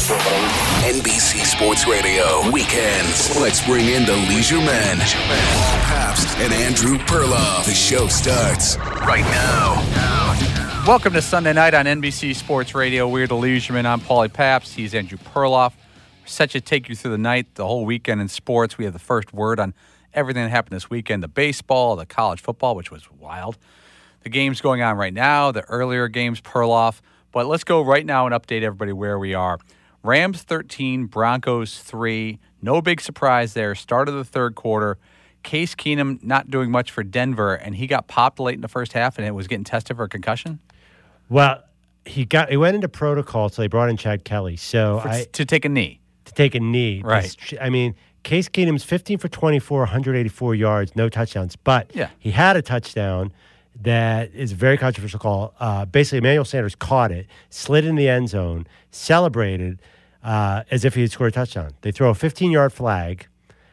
NBC Sports Radio. Weekends. Let's bring in the Leisure Men. Paul Pabst and Andrew Perloff. The show starts right now. Welcome to Sunday night on NBC Sports Radio. We're the Leisure Men. I'm Paulie Pabst. He's Andrew Perloff. We're set to take you through the night, the whole weekend in sports. We have the first word on everything that happened this weekend. The baseball, the college football, which was wild. The games going on right now, the earlier games, Perloff. But let's go right now and update everybody where we are. Rams 13, Broncos 3. No big surprise there. Start of the third quarter. Case Keenum not doing much for Denver, and he got popped late in the first half, and it was getting tested for a concussion. Well, he went into protocol, so they brought in Chad Kelly. To take a knee. To take a knee. Right. I mean, Case Keenum's 15 for 24, 184 yards, no touchdowns. But he had a touchdown that is a very controversial call. Basically, Emmanuel Sanders caught it, slid in the end zone, celebrated as if he had scored a touchdown. They throw a 15-yard flag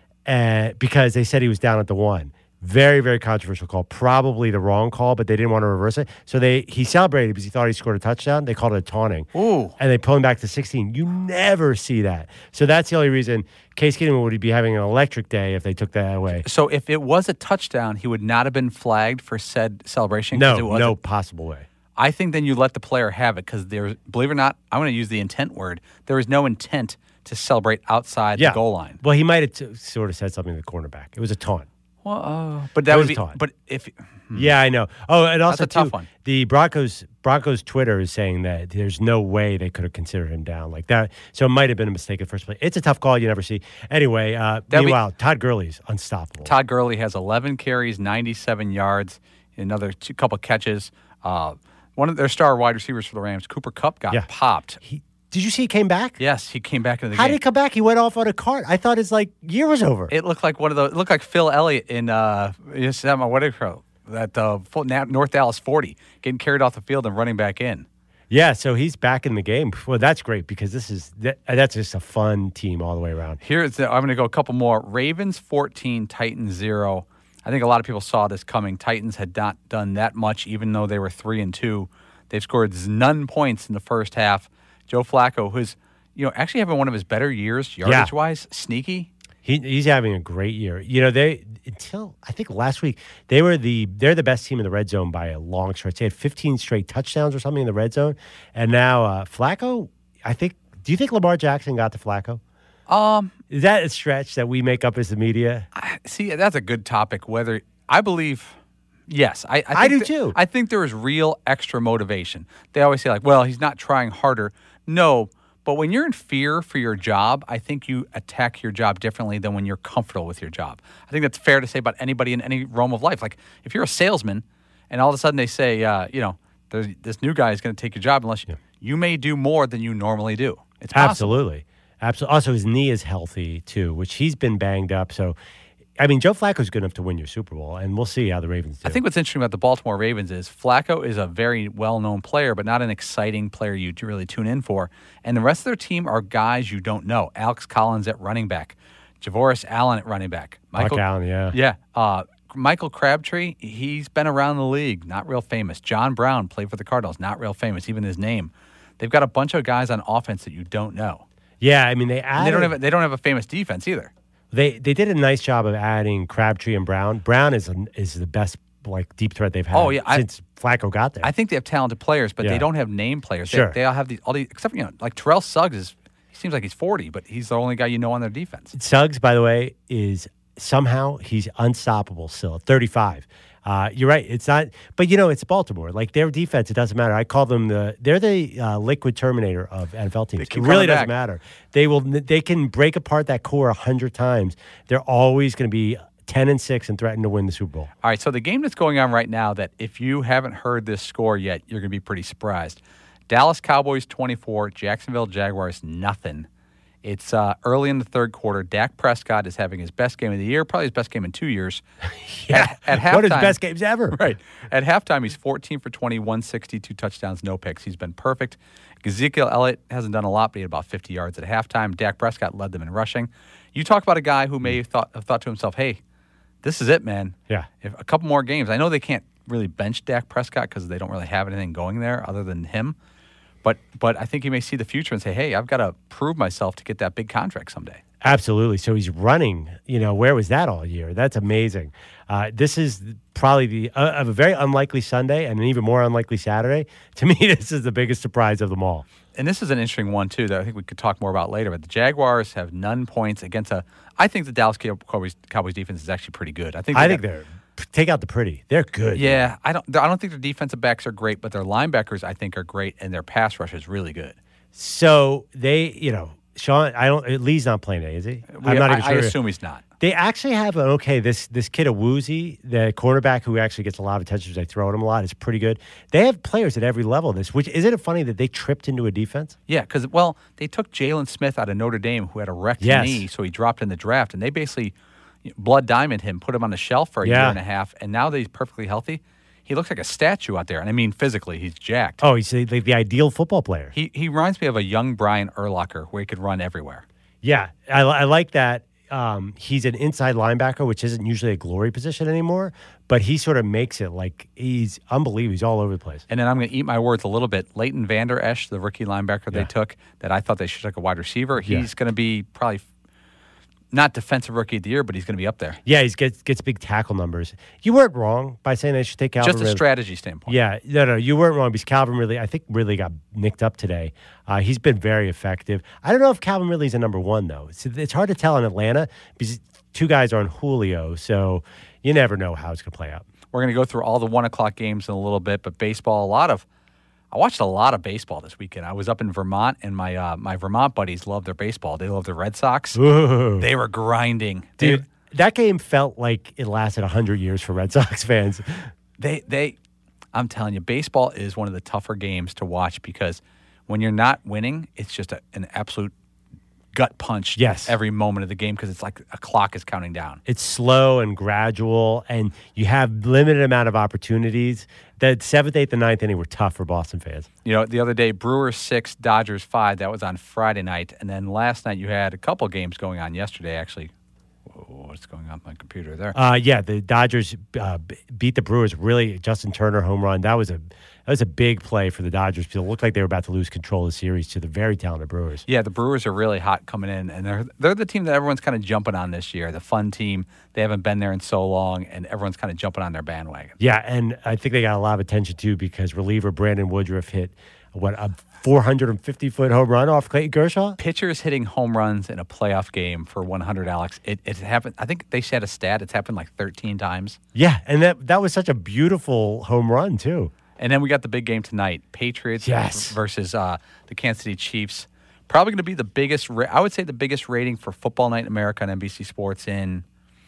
because they said he was down at the one. Very, very controversial call. Probably the wrong call, but they didn't want to reverse it. So he celebrated because he thought he scored a touchdown. They called it a taunting. Ooh. And they pulled him back to 16. You never see that. So that's the only reason Case Keenum would be having an electric day if they took that away. So if it was a touchdown, he would not have been flagged for said celebration? No possible way. I think then you let the player have it because believe it or not, I'm going to use the intent word. There is no intent to celebrate outside the goal line. Well, he might have sort of said something to the cornerback. It was a taunt. Well, but that would be. Taunt. But if. Yeah, I know. Oh, and also that's a tough one. The Broncos Twitter is saying that there's no way they could have considered him down like that. So it might have been a mistake at first place. It's a tough call you never see. Anyway, meanwhile, Todd Gurley's unstoppable. Todd Gurley has 11 carries, 97 yards, another couple catches. One of their star wide receivers for the Rams, Cooper Kupp, got popped. Did you see he came back? Yes, he came back into the game. How did he come back? He went off on a cart. I thought his year was over. It looked like it looked like Phil Elliott in North Dallas 40, getting carried off the field and running back in. Yeah, so he's back in the game. Well, that's great because that's just a fun team all the way around. I'm going to go a couple more. Ravens 14, Titans 0. I think a lot of people saw this coming. Titans had not done that much, even though they were 3-2. They've scored none points in the first half. Joe Flacco, who's actually having one of his better years yardage-wise, sneaky. He's having a great year. Until I think last week they're the best team in the red zone by a long stretch. They had 15 straight touchdowns or something in the red zone, and now Flacco. Do you think Lamar Jackson got to Flacco? Is that a stretch that we make up as the media? See, that's a good topic. Whether I believe. Yes, I do too. I think there is real extra motivation. They always say he's not trying harder. No, but when you're in fear for your job, I think you attack your job differently than when you're comfortable with your job. I think that's fair to say about anybody in any realm of life. Like if you're a salesman and all of a sudden they say, this new guy is going to take your job unless you may do more than you normally do. It's possible. Absolutely. Also, his knee is healthy too, which he's been banged up. So, Joe Flacco's good enough to win your Super Bowl, and we'll see how the Ravens do. I think what's interesting about the Baltimore Ravens is Flacco is a very well-known player, but not an exciting player you really tune in for. And the rest of their team are guys you don't know. Alex Collins at running back. Javoris Allen at running back. Michael Allen, yeah. Yeah. Michael Crabtree, he's been around the league, not real famous. John Brown played for the Cardinals, not real famous, even his name. They've got a bunch of guys on offense that you don't know. Yeah, they added... They don't have a famous defense either. They did a nice job of adding Crabtree and Brown. Brown is the best deep threat they've had since Flacco got there. I think they have talented players, but they don't have name players. Sure. They all have these except Terrell Suggs he seems like he's 40, but he's the only guy on their defense. Suggs, by the way, is somehow he's unstoppable still at 35. You're right. It's not, but it's Baltimore. Their defense, it doesn't matter. I call them they're the liquid terminator of NFL teams. It really doesn't matter. They can break apart that core 100 times. They're always going to be 10-6 and threaten to win the Super Bowl. All right. So the game that's going on right now, that if you haven't heard this score yet, you're going to be pretty surprised. Dallas Cowboys 24, Jacksonville Jaguars nothing. It's early in the third quarter. Dak Prescott is having his best game of the year, probably his best game in 2 years. At halftime, one of his best games ever. Right. At halftime, he's 14 for 20, 162 touchdowns, no picks. He's been perfect. Ezekiel Elliott hasn't done a lot, but he had about 50 yards at halftime. Dak Prescott led them in rushing. You talk about a guy who may have thought to himself, hey, this is it, man. Yeah. If a couple more games. I know they can't really bench Dak Prescott because they don't really have anything going there other than him. But I think he may see the future and say, hey, I've got to prove myself to get that big contract someday. Absolutely. So he's running. Where was that all year? That's amazing. This is probably of a very unlikely Sunday and an even more unlikely Saturday. To me, this is the biggest surprise of them all. And this is an interesting one, too, that I think we could talk more about later. But the Jaguars have none points against I think the Dallas Cowboys defense is actually pretty good. I think they're take out the pretty. They're good. Yeah, man. I don't think their defensive backs are great, but their linebackers I think are great, and their pass rush is really good. So they, Sean, Lee's not playing today, is he? I'm not even sure. I assume he's not. They actually have this kid Awuzie, the cornerback who actually gets a lot of attention because they throw at him a lot. Is pretty good. They have players at every level of this, which isn't it funny that they tripped into a defense? Yeah, because, they took Jalen Smith out of Notre Dame who had a wrecked knee, so he dropped in the draft, and they basically blood diamond him, put him on the shelf for a year and a half, and now that he's perfectly healthy, he looks like a statue out there. And I mean physically, he's jacked. Oh, he's the ideal football player. He reminds me of a young Brian Urlacher where he could run everywhere. Yeah, I like that. He's an inside linebacker, which isn't usually a glory position anymore, but he sort of makes it like he's unbelievable. He's all over the place. And then I'm going to eat my words a little bit. Leighton Vander Esch, the rookie linebacker they took, that I thought they should take a wide receiver, he's going to be probably not defensive rookie of the year, but he's going to be up there. Yeah, he gets big tackle numbers. You weren't wrong by saying they should take Calvin. Just a strategy standpoint. Yeah, no, you weren't wrong because Calvin really got nicked up today. He's been very effective. I don't know if Calvin Ridley's a number one, though. It's hard to tell in Atlanta because two guys are on Julio, so you never know how it's going to play out. We're going to go through all the 1 o'clock games in a little bit, but baseball, I watched a lot of baseball this weekend. I was up in Vermont, and my Vermont buddies love their baseball. They love the Red Sox. Ooh. They were grinding. Dude, that game felt like it lasted 100 years for Red Sox fans. I'm telling you, baseball is one of the tougher games to watch because when you're not winning, it's just an absolute gut punch every moment of the game because it's like a clock is counting down. It's slow and gradual, and you have limited amount of opportunities. The 7th, 8th, and 9th inning were tough for Boston fans. The other day, Brewers 6, Dodgers 5. That was on Friday night. And then last night you had a couple games going on yesterday, actually. What's going on with my computer there? The Dodgers beat the Brewers. Really, Justin Turner home run. That was a big play for the Dodgers because it looked like they were about to lose control of the series to the very talented Brewers. Yeah, the Brewers are really hot coming in, and they're the team that everyone's kind of jumping on this year. The fun team. They haven't been there in so long, and everyone's kind of jumping on their bandwagon. Yeah, and I think they got a lot of attention too because reliever Brandon Woodruff hit a 450-foot home run off Clayton Kershaw. Pitchers hitting home runs in a playoff game for 100, Alex. It happened. I think they said a stat. It's happened like 13 times. Yeah, and that was such a beautiful home run too. And then we got the big game tonight, Patriots versus the Kansas City Chiefs. Probably going to be the biggest, I would say the biggest rating for Football Night in America on NBC Sports in,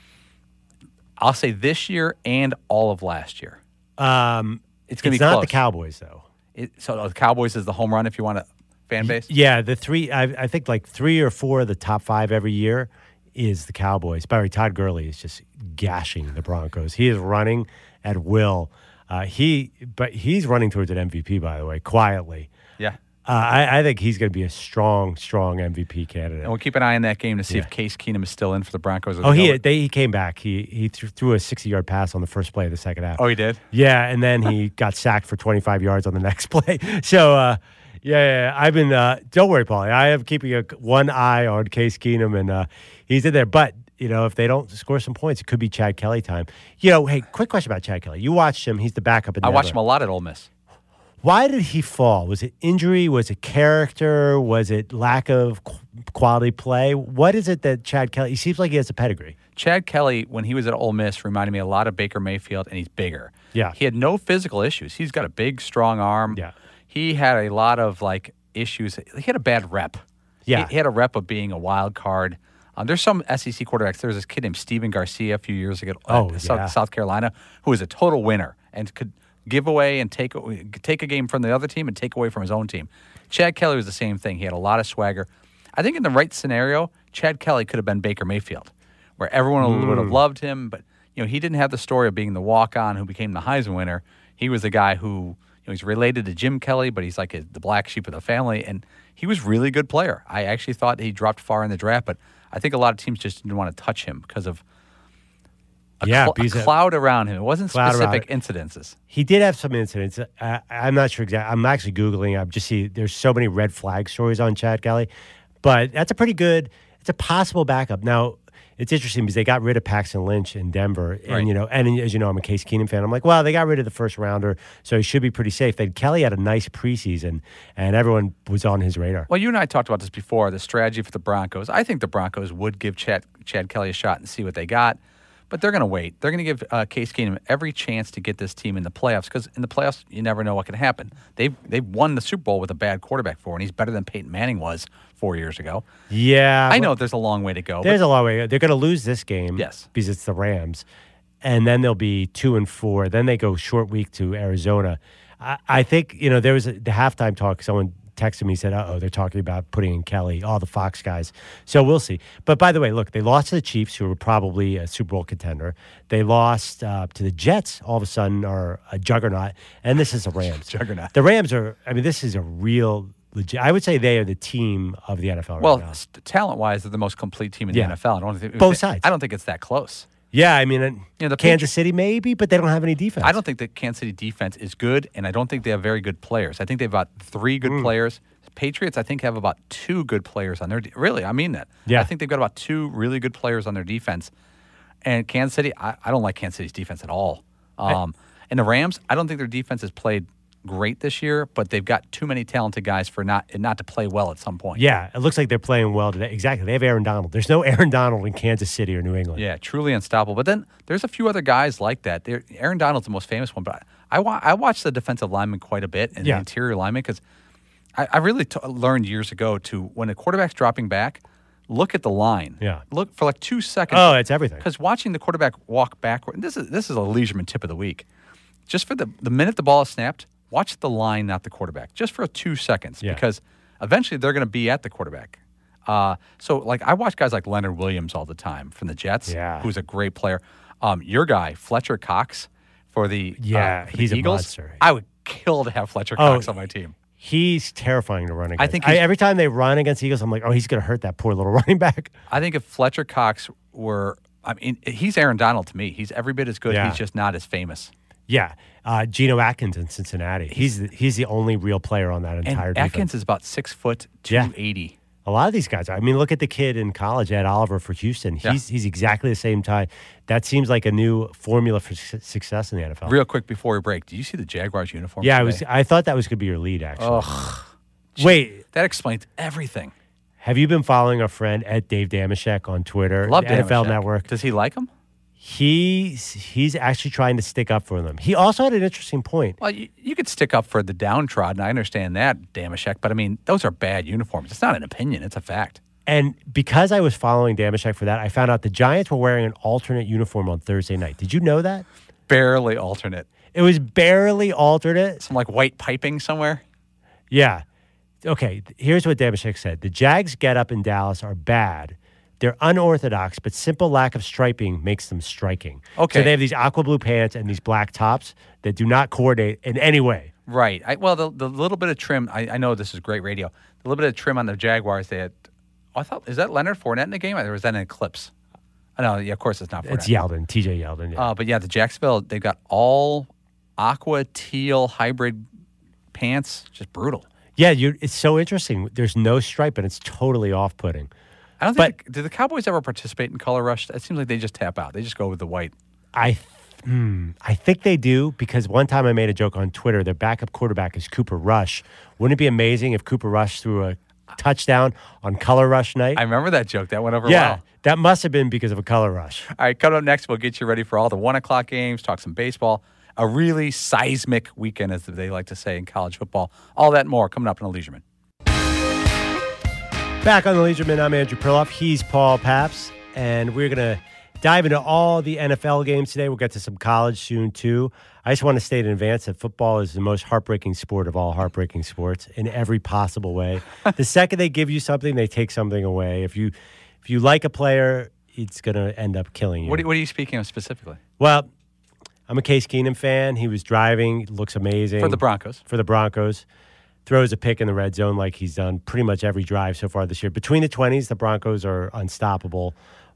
I'll say this year and all of last year. It's going to be close. It's not the Cowboys, though. So the Cowboys is the home run if you want a fan base? Yeah, the three, I think like 3 or 4 of the top 5 every year is the Cowboys. By the way, Todd Gurley is just gashing the Broncos. He is running at will. But he's running towards an MVP, by the way, quietly. Yeah. I think he's going to be a strong MVP candidate. And we'll keep an eye on that game to see if Case Keenum is still in for the Broncos. He came back. He threw a 60-yard pass on the first play of the second half. Oh, he did? Yeah, and then he got sacked for 25 yards on the next play. So, I've been don't worry, Paulie. I am keeping one eye on Case Keenum, and he's in there. But, if they don't score some points, it could be Chad Kelly time. Hey, quick question about Chad Kelly. You watched him. He's the backup. I watched him a lot at Ole Miss. Why did he fall? Was it injury? Was it character? Was it lack of quality play? What is it that Chad Kelly – he seems like he has a pedigree. Chad Kelly, when he was at Ole Miss, reminded me a lot of Baker Mayfield, and he's bigger. Yeah. He had no physical issues. He's got a big, strong arm. Yeah. He had a lot of, issues. He had a bad rep. Yeah. He had a rep of being a wild card. There's some SEC quarterbacks. There was this kid named Steven Garcia a few years ago at South Carolina who was a total winner and could – give away and take a game from the other team and take away from his own team. Chad Kelly was the same thing. He had a lot of swagger. I think in the right scenario, Chad Kelly could have been Baker Mayfield, where everyone would have loved him. But he didn't have the story of being the walk-on who became the Heisman winner. He was the guy who he's related to Jim Kelly, but he's like the black sheep of the family, and he was a really good player. I actually thought he dropped far in the draft, but I think a lot of teams just didn't want to touch him because of a cloud around him. It wasn't specific incidences. He did have some incidents. I'm not sure exactly. I'm actually Googling. I'm just seeing there's so many red flag stories on Chad Kelly. But that's it's a possible backup. Now, it's interesting because they got rid of Paxton Lynch in Denver. And, and as you know, I'm a Case Keenum fan. I'm like, well, they got rid of the first rounder, so he should be pretty safe. Then Kelly had a nice preseason, and everyone was on his radar. Well, you and I talked about this before, the strategy for the Broncos. I think the Broncos would give Chad Kelly a shot and see what they got. But they're going to wait. They're going to give Case Keenum every chance to get this team in the playoffs because in the playoffs, you never know what can happen. They've won the Super Bowl with a bad quarterback and he's better than Peyton Manning was 4 years ago. Yeah. I know there's a long way to go. There's a long way to go. They're going to lose this game because it's the Rams, and then they'll be 2-4. Then they go short week to Arizona. I think, there was the halftime talk. Someone texted me, said, they're talking about putting in Kelly, all the Fox guys. So we'll see. But by the way, look, they lost to the Chiefs, who were probably a Super Bowl contender. They lost to the Jets, all of a sudden are a juggernaut. And this is the Rams. Juggernaut. The Rams this is a real legit. I would say they are the team of the NFL right now. Talent-wise, they're the most complete team in the NFL. Both sides. I don't think it's that close. Yeah, I mean, Kansas City maybe, but they don't have any defense. I don't think the Kansas City defense is good, and I don't think they have very good players. I think they've got 3 good players. Patriots, I think, have about 2 good players on their really, I mean that. Yeah. I think they've got about 2 really good players on their defense. And Kansas City, I don't like Kansas City's defense at all. And the Rams, I don't think their defense has played great this year, but they've got too many talented guys for not to play well at some point. Yeah, it looks like they're playing well today. Exactly. They have Aaron Donald. There's no Aaron Donald in Kansas City or New England. Yeah, truly unstoppable. But then there's a few other guys like that. Aaron Donald's the most famous one, but I watch the defensive linemen quite a bit and the interior linemen because I really learned years ago when a quarterback's dropping back, look at the line. Yeah. Look for like 2 seconds. Oh, it's everything. Because watching the quarterback walk backward, this is a Leisureman tip of the week. Just for the minute the ball is snapped, watch the line, not the quarterback, just for 2 seconds, because eventually they're going to be at the quarterback. So, like, I watch guys like Leonard Williams all the time from the Jets, who's a great player. Your guy, Fletcher Cox, for the he's Eagles. A monster. I would kill to have Fletcher Cox on my team. He's terrifying to run against. I think every time they run against the Eagles, I'm like, he's going to hurt that poor little running back. I think if Fletcher Cox he's Aaron Donald to me. He's every bit as good. He's just not as famous. Yeah. Geno Atkins in Cincinnati. He's the only real player on that entire defense. Atkins is about 6 foot, 280. A lot of these guys. I mean, look at the kid in college, Ed Oliver for Houston. He's exactly the same type. That seems like a new formula for success in the NFL. Real quick before we break, did you see the Jaguars uniform? Yeah, today? I thought that was going to be your lead, actually. Wait. That explains everything. Have you been following our friend at Dave Damashek on Twitter? Love the NFL Network. Does he like him? He's actually trying to stick up for them. He also had an interesting point. Well, you could stick up for the downtrodden. I understand that, Damashek, but I mean, those are bad uniforms. It's not an opinion. It's a fact. And because I was following Damashek for that, I found out the Giants were wearing an alternate uniform on Thursday night. Did you know that? Barely alternate. It was barely alternate. Some like white piping somewhere? Yeah. Okay, here's what Damashek said. The Jags' get-up in Dallas are bad. They're unorthodox, but simple lack of striping makes them striking. Okay. So they have these aqua blue pants and these black tops that do not coordinate in any way. Right. The little bit of trim, I know this is great radio. The little bit of trim on the Jaguars, they had, is that Leonard Fournette in the game? Or was that an Eclipse? No, of course it's not Fournette. It's Yeldon, TJ Yeldon. Yeah. But the Jacksonville, they've got all aqua teal hybrid pants. Just brutal. Yeah, it's so interesting. There's no stripe, and it's totally off-putting. I don't think. Do the Cowboys ever participate in color rush? It seems like they just tap out. They just go with the white. I think they do, because one time I made a joke on Twitter. Their backup quarterback is Cooper Rush. Wouldn't it be amazing if Cooper Rush threw a touchdown on color rush night? I remember that joke. That went over well. Yeah, that must have been because of a color rush. All right, coming up next, we'll get you ready for all the 1 o'clock games, talk some baseball. A really seismic weekend, as they like to say in college football. All that and more coming up in the Leisureman. Back on the Leisureman, I'm Andrew Perloff. He's Paul Paps, and we're going to dive into all the NFL games today. We'll get to some college soon, too. I just want to state in advance that football is the most heartbreaking sport of all heartbreaking sports in every possible way. The second they give you something, they take something away. If you like a player, it's going to end up killing you. What are you speaking of specifically? Well, I'm a Case Keenum fan. He was driving, looks amazing. For the Broncos. Throws a pick in the red zone like he's done pretty much every drive so far this year. Between the 20s, the Broncos are unstoppable.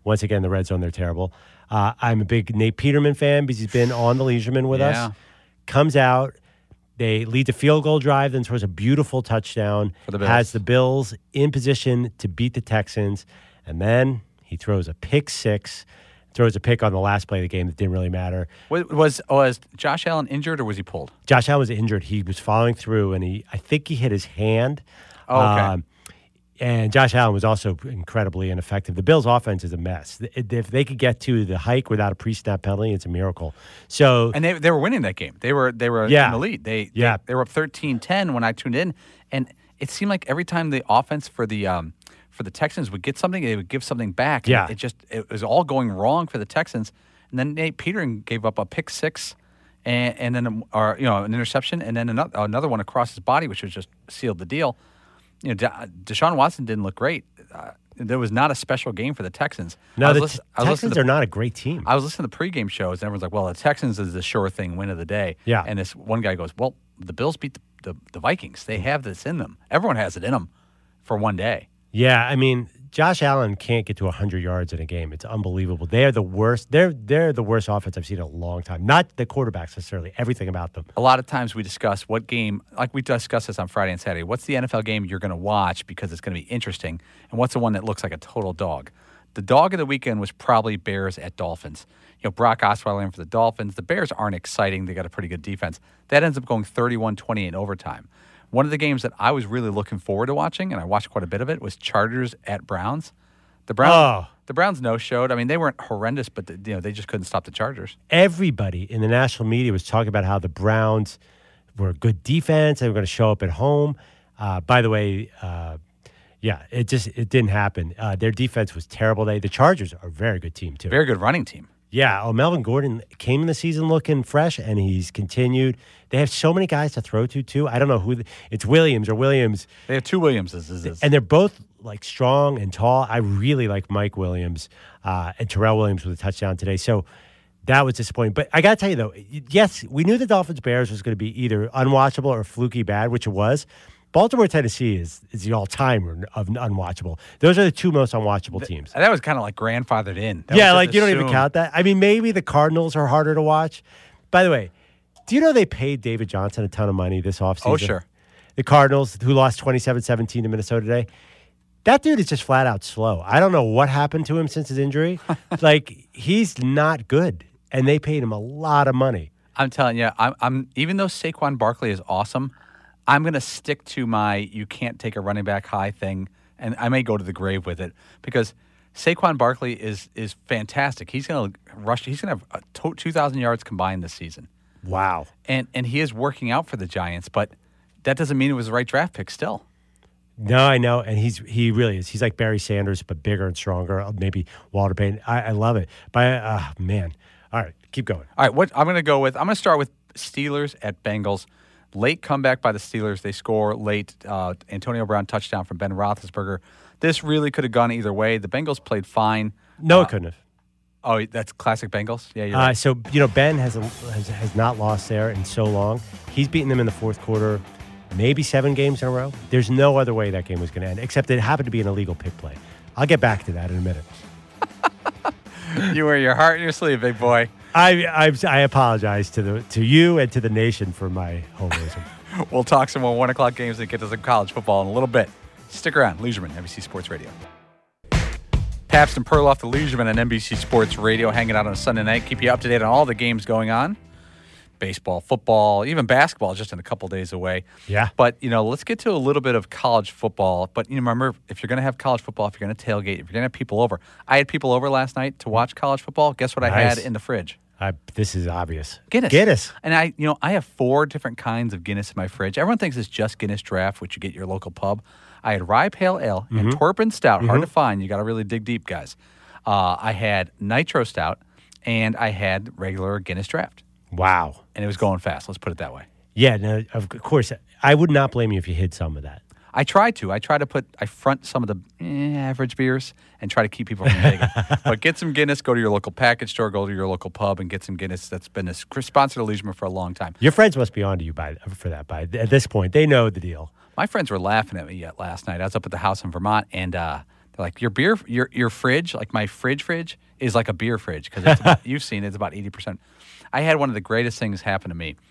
Once again, the red zone, they're terrible. I'm a big Nate Peterman fan because he's been on the Leisureman with us. Comes out. They lead the field goal drive, then throws a beautiful touchdown. For the Bills. Has the Bills in position to beat the Texans. And then he throws a pick six. Throws a pick on the last play of the game that didn't really matter. Was Josh Allen injured or was he pulled? Josh Allen was injured. He was following through, and I think he hit his hand. Oh, okay. And Josh Allen was also incredibly ineffective. The Bills' offense is a mess. If they could get to the hike without a pre-snap penalty, it's a miracle. So, and they were winning that game. They were in the lead. They were up 13-10 when I tuned in, and it seemed like every time the offense for the Texans would get something, they would give something back. Yeah. It was all going wrong for the Texans. And then Nate Peterman gave up a pick six and then an interception, and then another one across his body, which was just sealed the deal. Deshaun Watson didn't look great. There was not a special game for the Texans. No, the Texans are not a great team. I was listening to pregame shows, and everyone's like, well, the Texans is the sure thing win of the day. Yeah. And this one guy goes, well, the Bills beat the Vikings. They have this in them. Everyone has it in them for one day. Yeah, I mean, Josh Allen can't get to 100 yards in a game. It's unbelievable. They are the worst. They're the worst offense I've seen in a long time. Not the quarterbacks necessarily, everything about them. A lot of times we discuss what game, like we discussed this on Friday and Saturday, what's the NFL game you're going to watch because it's going to be interesting, and what's the one that looks like a total dog? The dog of the weekend was probably Bears at Dolphins. Brock Osweiler in for the Dolphins. The Bears aren't exciting. They got a pretty good defense. That ends up going 31-28 in overtime. One of the games that I was really looking forward to watching, and I watched quite a bit of it, was Chargers at Browns. The Browns no-showed. I mean, they weren't horrendous, but they just couldn't stop the Chargers. Everybody in the national media was talking about how the Browns were a good defense. They were going to show up at home. By the way, it didn't happen. Their defense was terrible. The Chargers are a very good team, too. Very good running team. Yeah. Melvin Gordon came in the season looking fresh, and he's continued. They have so many guys to throw to, too. I don't know who. It's Williams or Williams. They have two Williamses. And they're both, strong and tall. I really like Mike Williams and Terrell Williams with a touchdown today. So that was disappointing. But I got to tell you, though, yes, we knew the Dolphins-Bears was going to be either unwatchable or fluky bad, which it was. Baltimore, Tennessee is the all-time of unwatchable. Those are the two most unwatchable teams. That was kind of like grandfathered in. You don't even count that. I mean, maybe the Cardinals are harder to watch. By the way, do you know they paid David Johnson a ton of money this offseason? Oh, sure. The Cardinals, who lost 27-17 to Minnesota today. That dude is just flat out slow. I don't know what happened to him since his injury. He's not good, and they paid him a lot of money. I'm telling you, I'm even though Saquon Barkley is awesome, I'm going to stick to my you can't take a running back high thing, and I may go to the grave with it because Saquon Barkley is fantastic. He's going to rush. He's going to have 2,000 yards combined this season. Wow. And he is working out for the Giants, but that doesn't mean it was the right draft pick still. No, I know, and he really is. He's like Barry Sanders, but bigger and stronger. Maybe Walter Payton. I love it. But man, all right, keep going. All right, I'm going to start with Steelers at Bengals. Late comeback by the Steelers. They score late. Antonio Brown touchdown from Ben Roethlisberger. This really could have gone either way. The Bengals played fine. No, it couldn't have. Oh, that's classic Bengals? Yeah, you're right. So, Ben has not lost there in so long. He's beaten them in the fourth quarter, maybe 7 games in a row. There's no other way that game was going to end, except it happened to be an illegal pick play. I'll get back to that in a minute. You wear your heart in your sleeve, big boy. I apologize to you and to the nation for my homerism. We'll talk some more 1 o'clock games and get to some college football in a little bit. Stick around. Leisureman, NBC Sports Radio. Pabst and Perloff, the Leisureman on NBC Sports Radio, hanging out on a Sunday night. Keep you up to date on all the games going on. Baseball, football, even basketball just in a couple days away. Yeah. But, let's get to a little bit of college football. But, remember, if you're going to have college football, if you're going to tailgate, if you're going to have people over. I had people over last night to watch college football. Guess what I had in the fridge? This is obvious. Guinness. And I have 4 different kinds of Guinness in my fridge. Everyone thinks it's just Guinness Draft, which you get at your local pub. I had Rye Pale Ale and Torpin Stout. Hard to find. You got to really dig deep, guys. I had Nitro Stout, and I had regular Guinness Draft. Wow. And it was going fast. Let's put it that way. Yeah, no, of course. I would not blame you if you hid some of that. I try to. I front some of the average beers and try to keep people from digging. But get some Guinness, go to your local package store, go to your local pub, and get some Guinness. That's been a sponsor to Leisureman for a long time. Your friends must be on to you for that. At this point, they know the deal. My friends were laughing at me last night. I was up at the house in Vermont, and They're like, your fridge, like my fridge is like a beer fridge because you've seen it's about 80%. I had one of the greatest things happen to me.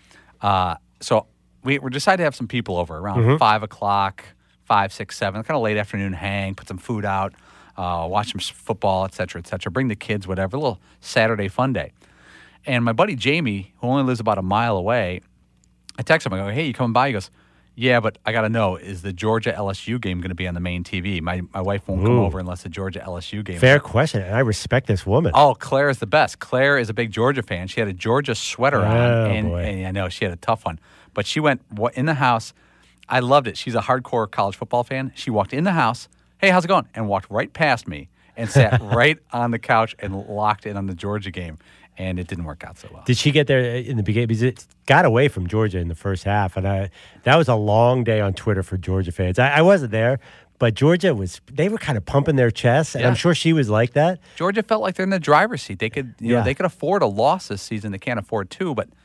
So we decided to have some people over around 5 o'clock, 5, 6, 7, kind of late afternoon hang, put some food out, watch some football, et cetera, bring the kids, whatever, a little Saturday fun day. And my buddy Jamie, who only lives about a mile away, I text him. I go, hey, you coming by? He goes, yeah, but I got to know, is the Georgia-LSU game going to be on the main TV? My wife won't come over unless the Georgia-LSU game. Fair question, and I respect this woman. Oh, Claire is the best. Claire is a big Georgia fan. She had a Georgia sweater on, and I know she had a tough one. But she went in the house. I loved it. She's a hardcore college football fan. She walked in the house, hey, how's it going? And walked right past me and sat right on the couch and locked in on the Georgia game. And it didn't work out so well. Did she get there in the beginning? Because it got away from Georgia in the first half. And that was a long day on Twitter for Georgia fans. I wasn't there, but Georgia they were kind of pumping their chests. And I'm sure she was like that. Georgia felt like they're in the driver's seat. They could, they could afford a loss this season. They can't afford two, but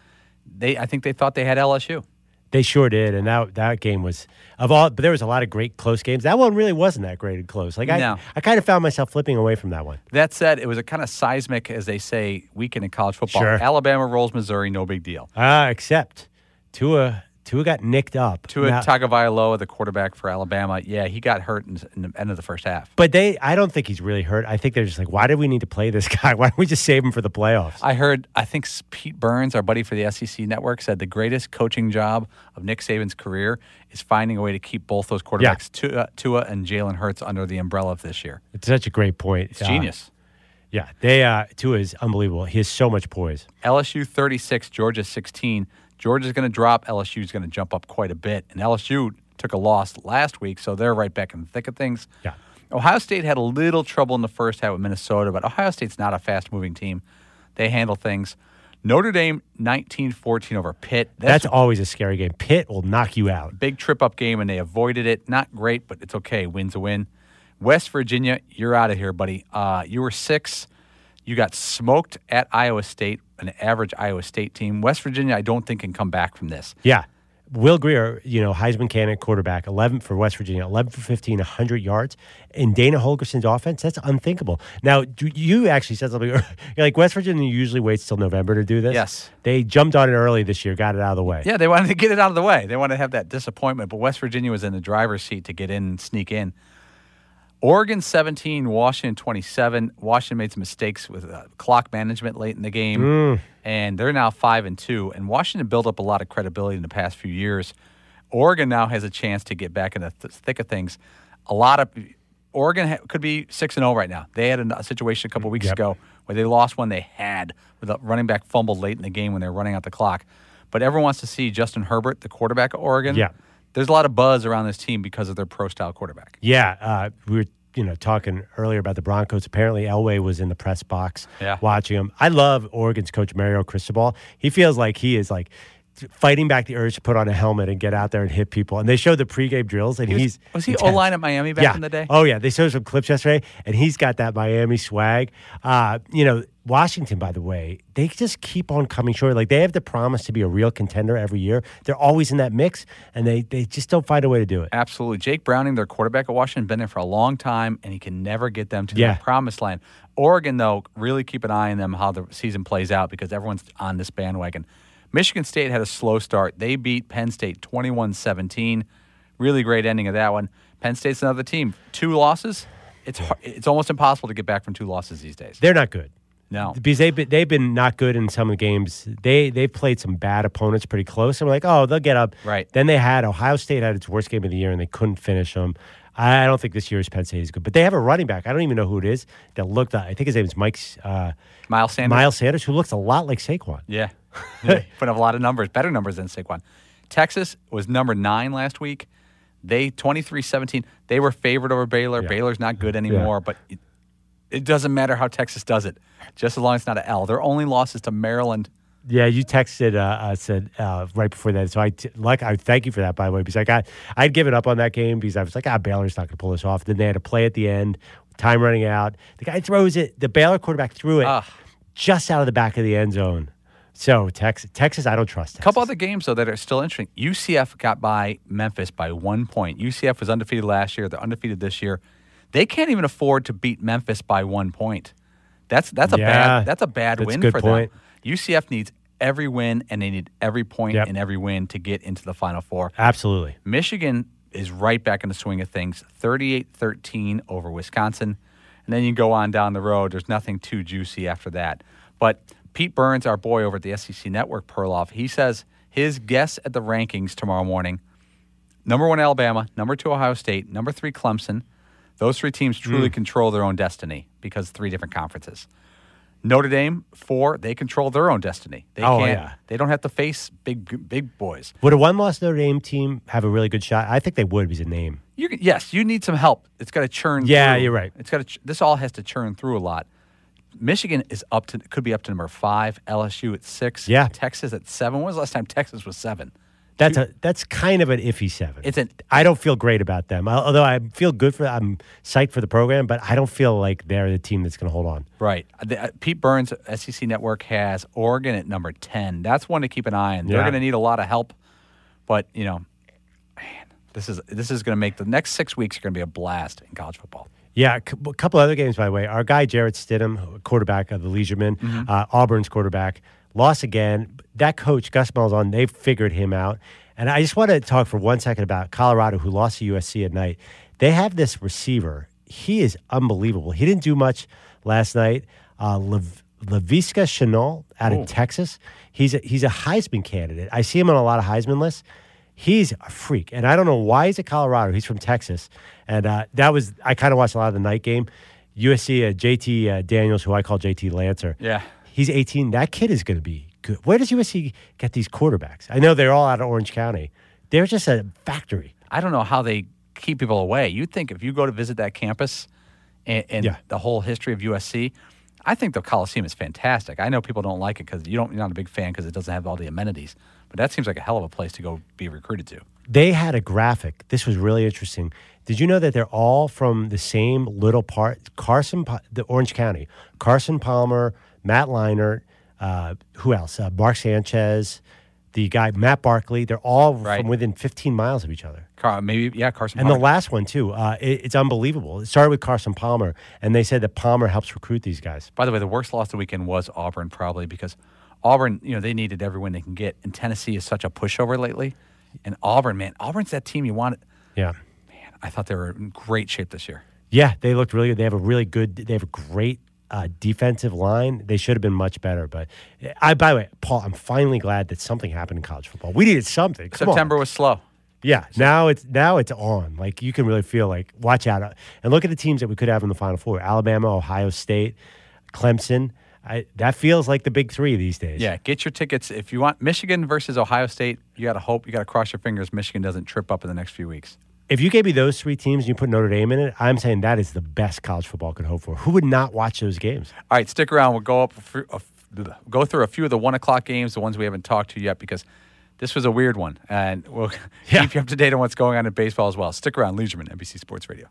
I think they thought they had LSU. They sure did, and that game was but there was a lot of great close games. That one really wasn't that great and close. I kind of found myself flipping away from that one. That said, it was a kind of seismic, as they say, weekend in college football. Sure. Alabama rolls Missouri, no big deal. Except Tua got nicked up. Tua Tagovailoa, the quarterback for Alabama, he got hurt in the end of the first half. But I don't think he's really hurt. I think they're just like, why did we need to play this guy? Why don't we just save him for the playoffs? I think Pete Burns, our buddy for the SEC Network, said the greatest coaching job of Nick Saban's career is finding a way to keep both those quarterbacks, Tua and Jalen Hurts, under the umbrella of this year. It's such a great point. It's genius. Yeah, Tua is unbelievable. He has so much poise. LSU 36, Georgia 16. Georgia's going to drop. LSU's going to jump up quite a bit. And LSU took a loss last week, so they're right back in the thick of things. Yeah. Ohio State had a little trouble in the first half with Minnesota, but Ohio State's not a fast-moving team. They handle things. Notre Dame 19-14 over Pitt. That's always a scary game. Pitt will knock you out. Big trip-up game, and they avoided it. Not great, but it's okay. Win's a win. West Virginia, you're out of here, buddy. You were 6. You got smoked at Iowa State, an average Iowa State team. West Virginia, I don't think, can come back from this. Yeah. Will Grier, Heisman candidate quarterback, 11 for West Virginia, 11 for 15, 100 yards. In Dana Holgerson's offense, that's unthinkable. Now, you actually said something. You're like, West Virginia usually waits till November to do this. Yes. They jumped on it early this year, got it out of the way. Yeah, they wanted to get it out of the way. They wanted to have that disappointment, but West Virginia was in the driver's seat to get in and sneak in. Oregon 17, Washington 27. Washington made some mistakes with clock management late in the game, and they're now 5-2. And Washington built up a lot of credibility in the past few years. Oregon now has a chance to get back in the thick of things. Oregon could be 6-0 right now. They had a situation a couple weeks ago where they lost one they had with a running back fumbled late in the game when they were running out the clock. But everyone wants to see Justin Herbert, the quarterback of Oregon. Yeah. There's a lot of buzz around this team because of their pro-style quarterback. Yeah, we were talking earlier about the Broncos. Apparently, Elway was in the press box watching them. I love Oregon's coach, Mario Cristobal. He feels like he is like fighting back the urge to put on a helmet and get out there and hit people. And they showed the pregame drills, and was he O-line at Miami back in the day? Oh, yeah. They showed some clips yesterday, and he's got that Miami swag. Washington, by the way, they just keep on coming short. Like, they have the promise to be a real contender every year. They're always in that mix, and they just don't find a way to do it. Absolutely. Jake Browning, their quarterback at Washington, been there for a long time, and he can never get them to the promised land. Oregon, though, really keep an eye on them, how the season plays out, because everyone's on this bandwagon. Michigan State had a slow start. They beat Penn State 21-17. Really great ending of that one. Penn State's another team. 2 losses. It's almost impossible to get back from 2 losses these days. They're not good. No. Because they've been not good in some of the games. They've played some bad opponents pretty close. And we're like, oh, they'll get up. Right. Then Ohio State had its worst game of the year, and they couldn't finish them. I don't think this year's Penn State is good. But they have a running back. I don't even know who it is. That looked, I think his name is Miles Sanders. Miles Sanders, who looks a lot like Saquon. Yeah. Put up a lot of numbers, better numbers than Saquon. Texas was number 9 last week. They 23-17. They were favored over Baylor. Yeah. Baylor's not good anymore, but it doesn't matter how Texas does it, just as long as it's not an L. Their only loss is to Maryland. Yeah, you texted said right before that. So I thank you for that, by the way, because I'd given up on that game because I was like, Baylor's not going to pull this off. Then they had to play at the end, time running out. The guy throws it. The Baylor quarterback threw it just out of the back of the end zone. So Texas, I don't trust Texas. A couple other games, though, that are still interesting. UCF got by Memphis by 1 point. UCF was undefeated last year. They're undefeated this year. They can't even afford to beat Memphis by 1 point. That's a bad win for them. UCF needs every win, and they need every point in every win to get into the Final Four. Absolutely. Michigan is right back in the swing of things, 38-13 over Wisconsin. And then you go on down the road. There's nothing too juicy after that. But Pete Burns, our boy over at the SEC Network, Perloff, he says his guess at the rankings tomorrow morning, number 1 Alabama, number 2 Ohio State, number 3 Clemson. Those 3 teams truly control their own destiny because 3 different conferences. Notre Dame, 4, they control their own destiny. They don't have to face big boys. Would a one-loss Notre Dame team have a really good shot? I think they would because of name. Yes, you need some help. It's got to churn through. Yeah, you're right. This all has to churn through a lot. Michigan is could be up to number 5, LSU at 6, Texas at 7. When was the last time Texas was 7? That's kind of an iffy 7. I don't feel great about them. Although I feel good I'm psyched for the program, but I don't feel like they're the team that's going to hold on. Right. Pete Burns, SEC Network, has Oregon at number 10. That's one to keep an eye on. They're going to need a lot of help, but this is going to make the next 6 weeks are going to be a blast in college football. Yeah, a couple other games, by the way. Our guy Jarrett Stidham, quarterback of the Leisuremen, Auburn's quarterback, lost again. That coach, Gus Malzahn, they figured him out. And I just want to talk for 1 second about Colorado, who lost to USC at night. They have this receiver. He is unbelievable. He didn't do much last night. Laviska Shenault out of Texas. He's a Heisman candidate. I see him on a lot of Heisman lists. He's a freak. And I don't know why he's at Colorado. He's from Texas. And I kind of watched a lot of the night game. USC, JT Daniels, who I call JT Lancer. Yeah. He's 18. That kid is going to be good. Where does USC get these quarterbacks? I know they're all out of Orange County. They're just a factory. I don't know how they keep people away. You'd think if you go to visit that campus and the whole history of USC, I think the Coliseum is fantastic. I know people don't like it because you're not a big fan because it doesn't have all the amenities. But that seems like a hell of a place to go be recruited to. They had a graphic. This was really interesting. Did you know that they're all from the same little part? The Orange County. Carson Palmer, Matt Leinart, who else? Mark Sanchez, the guy, Matt Barkley. They're all from within 15 miles of each other. Carson Palmer. And the last one, too. It's unbelievable. It started with Carson Palmer, and they said that Palmer helps recruit these guys. By the way, the worst loss of the weekend was Auburn, probably, because Auburn, they needed every win they can get, and Tennessee is such a pushover lately. And Auburn's that team you wanted. Yeah. Man, I thought they were in great shape this year. Yeah, they looked really good. They have a great defensive line. They should have been much better. But by the way, Paul, I'm finally glad that something happened in college football. We needed something. September was slow. Yeah, now it's on. Like, you can really feel like, watch out. And look at the teams that we could have in the Final Four. Alabama, Ohio State, Clemson. That feels like the big 3 these days. Yeah, get your tickets. If you want Michigan versus Ohio State, you got to cross your fingers Michigan doesn't trip up in the next few weeks. If you gave me those 3 teams and you put Notre Dame in it, I'm saying that is the best college football could hope for. Who would not watch those games? All right, stick around. We'll go through a few of the 1 o'clock games, the ones we haven't talked to yet, because this was a weird one. And we'll keep you up to date on what's going on in baseball as well. Stick around. Leisureman, NBC Sports Radio.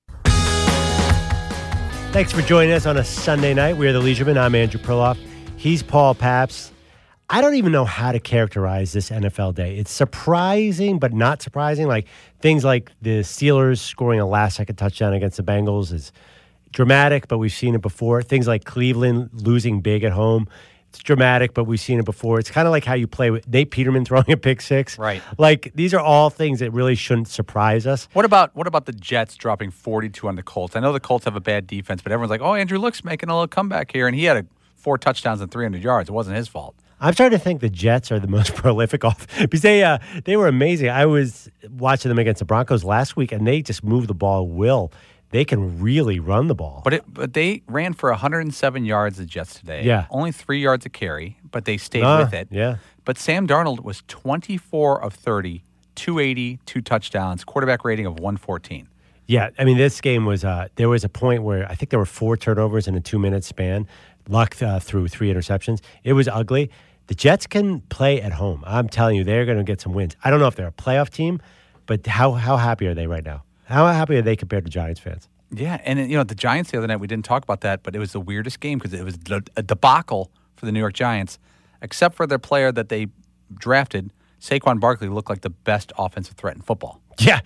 Thanks for joining us on a Sunday night. We are the Leisureman. I'm Andrew Perloff. He's Paul Pabst. I don't even know how to characterize this NFL day. It's surprising, but not surprising. Like, things like the Steelers scoring a last-second touchdown against the Bengals is dramatic, but we've seen it before. Things like Cleveland losing big at home. It's dramatic, but we've seen it before. It's kind of like how you play with Nate Peterman throwing a pick six. Right. Like, these are all things that really shouldn't surprise us. What about the Jets dropping 42 on the Colts? I know the Colts have a bad defense, but everyone's like, oh, Andrew Luck's making a little comeback here, and he had 4 touchdowns and 300 yards. It wasn't his fault. I'm starting to think the Jets are the most prolific because they were amazing. I was watching them against the Broncos last week, and they just moved the ball at will. They can really run the ball. But they ran for 107 yards, the Jets, today. Yeah. Only 3 yards a carry, but they stayed with it. Yeah. But Sam Darnold was 24 of 30, 280, 2 touchdowns, quarterback rating of 114. Yeah, I mean, this game was there was a point where I think there were 4 turnovers in a 2-minute span. Luck threw 3 interceptions. It was ugly. The Jets can play at home. I'm telling you, they're going to get some wins. I don't know if they're a playoff team, but how happy are they right now? How happy are they compared to Giants fans? Yeah, and the Giants the other night, we didn't talk about that, but it was the weirdest game because it was a debacle for the New York Giants, except for their player that they drafted, Saquon Barkley looked like the best offensive threat in football. Yeah.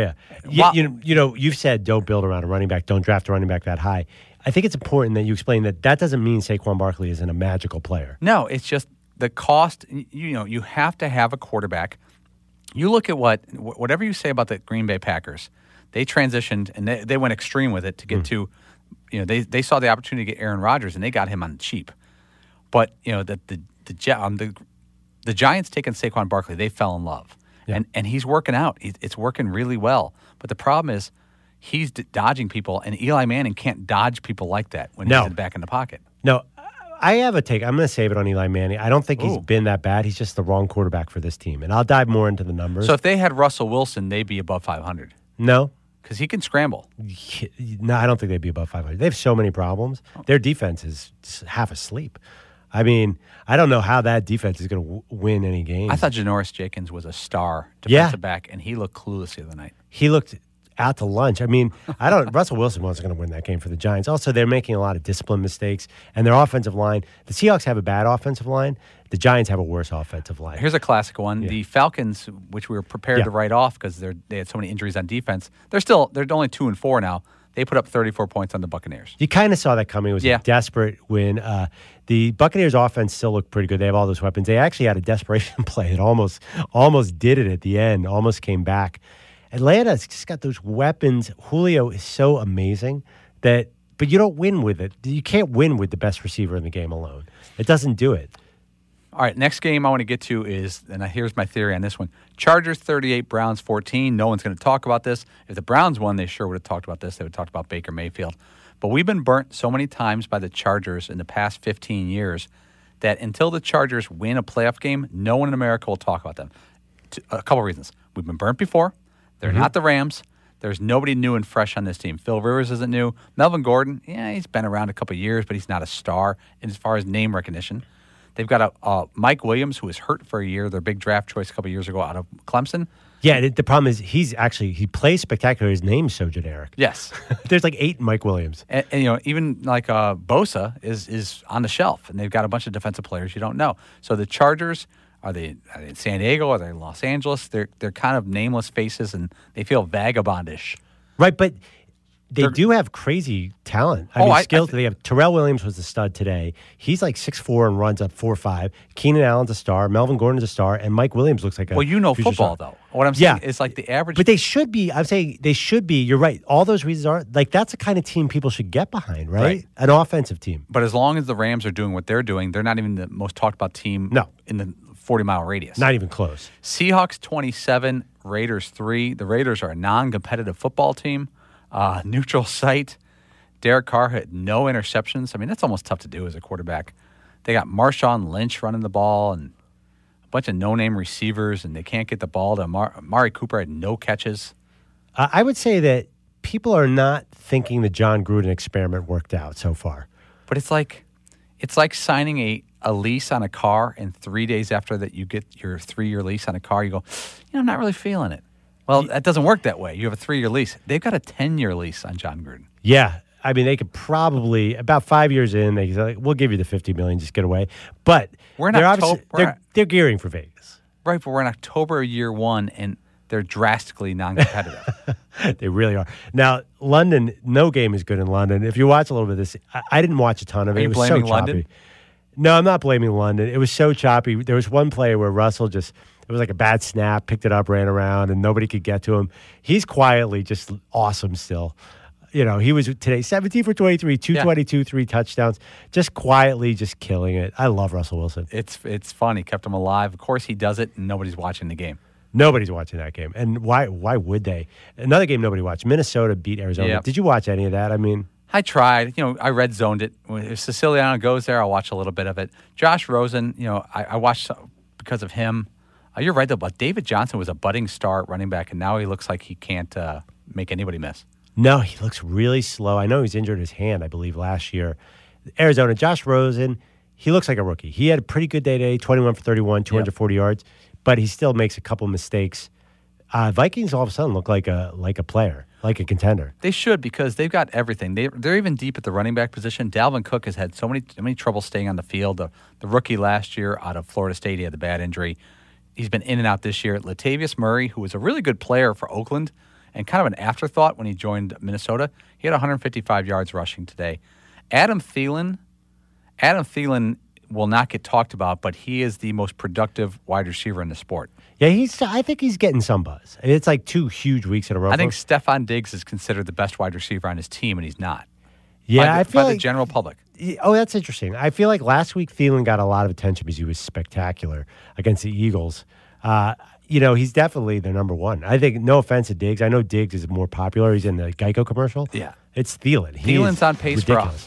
You've said don't build around a running back, don't draft a running back that high. I think it's important that you explain that doesn't mean Saquon Barkley isn't a magical player. No, it's just the cost. You have to have a quarterback. You look at whatever you say about the Green Bay Packers, they transitioned and they went extreme with it to get to, they saw the opportunity to get Aaron Rodgers and they got him on the cheap. But the Giants taking Saquon Barkley, they fell in love. Yeah. And he's working out. It's working really well. But the problem is he's dodging people, and Eli Manning can't dodge people like that when he's back in the pocket. No, I have a take. I'm going to save it on Eli Manning. I don't think he's been that bad. He's just the wrong quarterback for this team. And I'll dive more into the numbers. So if they had Russell Wilson, they'd be above 500. No. Because he can scramble. No, I don't think they'd be above 500. They have so many problems. Their defense is half asleep. I mean, I don't know how that defense is going to win any games. I thought Janoris Jenkins was a star defensive back, and he looked clueless the other night. He looked out to lunch. I mean, Russell Wilson wasn't going to win that game for the Giants. Also, they're making a lot of discipline mistakes, and their offensive line, the Seahawks have a bad offensive line. The Giants have a worse offensive line. Here's a classic one. Yeah. The Falcons, which we were prepared to write off because they had so many injuries on defense, they're only 2-4 now. They put up 34 points on the Buccaneers. You kind of saw that coming. It was a desperate win. The Buccaneers' offense still looked pretty good. They have all those weapons. They actually had a desperation play that almost did it at the end, almost came back. Atlanta's just got those weapons. Julio is so amazing but you don't win with it. You can't win with the best receiver in the game alone. It doesn't do it. All right, next game I want to get to is, and here's my theory on this one, Chargers 38, Browns 14. No one's going to talk about this. If the Browns won, they sure would have talked about this. They would have talked about Baker Mayfield. But we've been burnt so many times by the Chargers in the past 15 years that until the Chargers win a playoff game, no one in America will talk about them. A couple reasons. We've been burnt before. They're not the Rams. There's nobody new and fresh on this team. Phil Rivers isn't new. Melvin Gordon, he's been around a couple of years, but he's not a star as far as name recognition. They've got a Mike Williams, who was hurt for a year, their big draft choice a couple of years ago out of Clemson. Yeah, the problem is he plays spectacular. His name's so generic. Yes. There's like 8 Mike Williams. And even like Bosa is on the shelf, and they've got a bunch of defensive players you don't know. So the Chargers, are they in San Diego? Are they in Los Angeles? They're kind of nameless faces, and they feel vagabondish. Right, but they do have crazy talent. Skills. They have Terrell Williams was the stud today. He's like 6'4" and runs up 4.5. Keenan Allen's a star. Melvin Gordon's a star, and Mike Williams looks like a football star. Though. What I'm saying is like the average. But they should be. I'm saying they should be. You're right. All those reasons are like that's the kind of team people should get behind, right? An offensive team. But as long as the Rams are doing what they're doing, they're not even the most talked about team. In the 40-mile radius. Not even close. Seahawks 27, Raiders 3. The Raiders are a non-competitive football team. Neutral site. Derek Carr had no interceptions. I mean, that's almost tough to do as a quarterback. They got Marshawn Lynch running the ball and a bunch of no-name receivers, and they can't get the ball to Amari Cooper had no catches. I would say that people are not thinking the John Gruden experiment worked out so far. But it's like signing a lease on a car, and 3 days after that you get your 3-year lease on a car, you go, I'm not really feeling it. Well, that doesn't work that way. You have a 3-year lease. They've got a 10-year lease on John Gruden. Yeah. I mean, they could probably, about 5 years in, they say, we'll give you the $50 million, just get away. But they're gearing for Vegas. Right, but we're in October year 1, and they're drastically non-competitive. They really are. Now, London, no game is good in London. If you watch a little bit of this, I didn't watch a ton of it. Are you blaming London? No, I'm not blaming London. It was so choppy. There was one play where Russell it was like a bad snap, picked it up, ran around, and nobody could get to him. He's quietly just awesome still. He was today 17 for 23, 222, 3 touchdowns, just quietly just killing it. I love Russell Wilson. It's fun. He kept him alive. Of course he does it, and nobody's watching the game. Nobody's watching that game. And why would they? Another game nobody watched. Minnesota beat Arizona. Yep. Did you watch any of that? I mean, I tried. I red zoned it. If Siciliano goes there, I'll watch a little bit of it. Josh Rosen, I watched because of him. You're right, though, but David Johnson was a budding star at running back, and now he looks like he can't make anybody miss. No, he looks really slow. I know he's injured his hand, I believe, last year. Arizona, Josh Rosen, he looks like a rookie. He had a pretty good day today, 21 for 31, 240 yards, but he still makes a couple mistakes. Vikings all of a sudden look like a player, like a contender. They should, because they've got everything. They're even deep at the running back position. Dalvin Cook has had so many trouble staying on the field. The rookie last year out of Florida State, he had the bad injury. he's been in and out this year. Latavius Murray, who was a really good player for Oakland and kind of an afterthought when he joined Minnesota, he had 155 yards rushing today. Adam Thielen will not get talked about, but he is the most productive wide receiver in the sport. Yeah, I think he's getting some buzz. It's like 2 huge weeks in a row. I think Stephon Diggs is considered the best wide receiver on his team, and he's not. Yeah, I feel like the general public. Oh, that's interesting. I feel like last week Thielen got a lot of attention because he was spectacular against the Eagles. He's definitely the number one. I think, no offense to Diggs. I know Diggs is more popular. He's in the Geico commercial. Yeah. It's Thielen. Thielen's on pace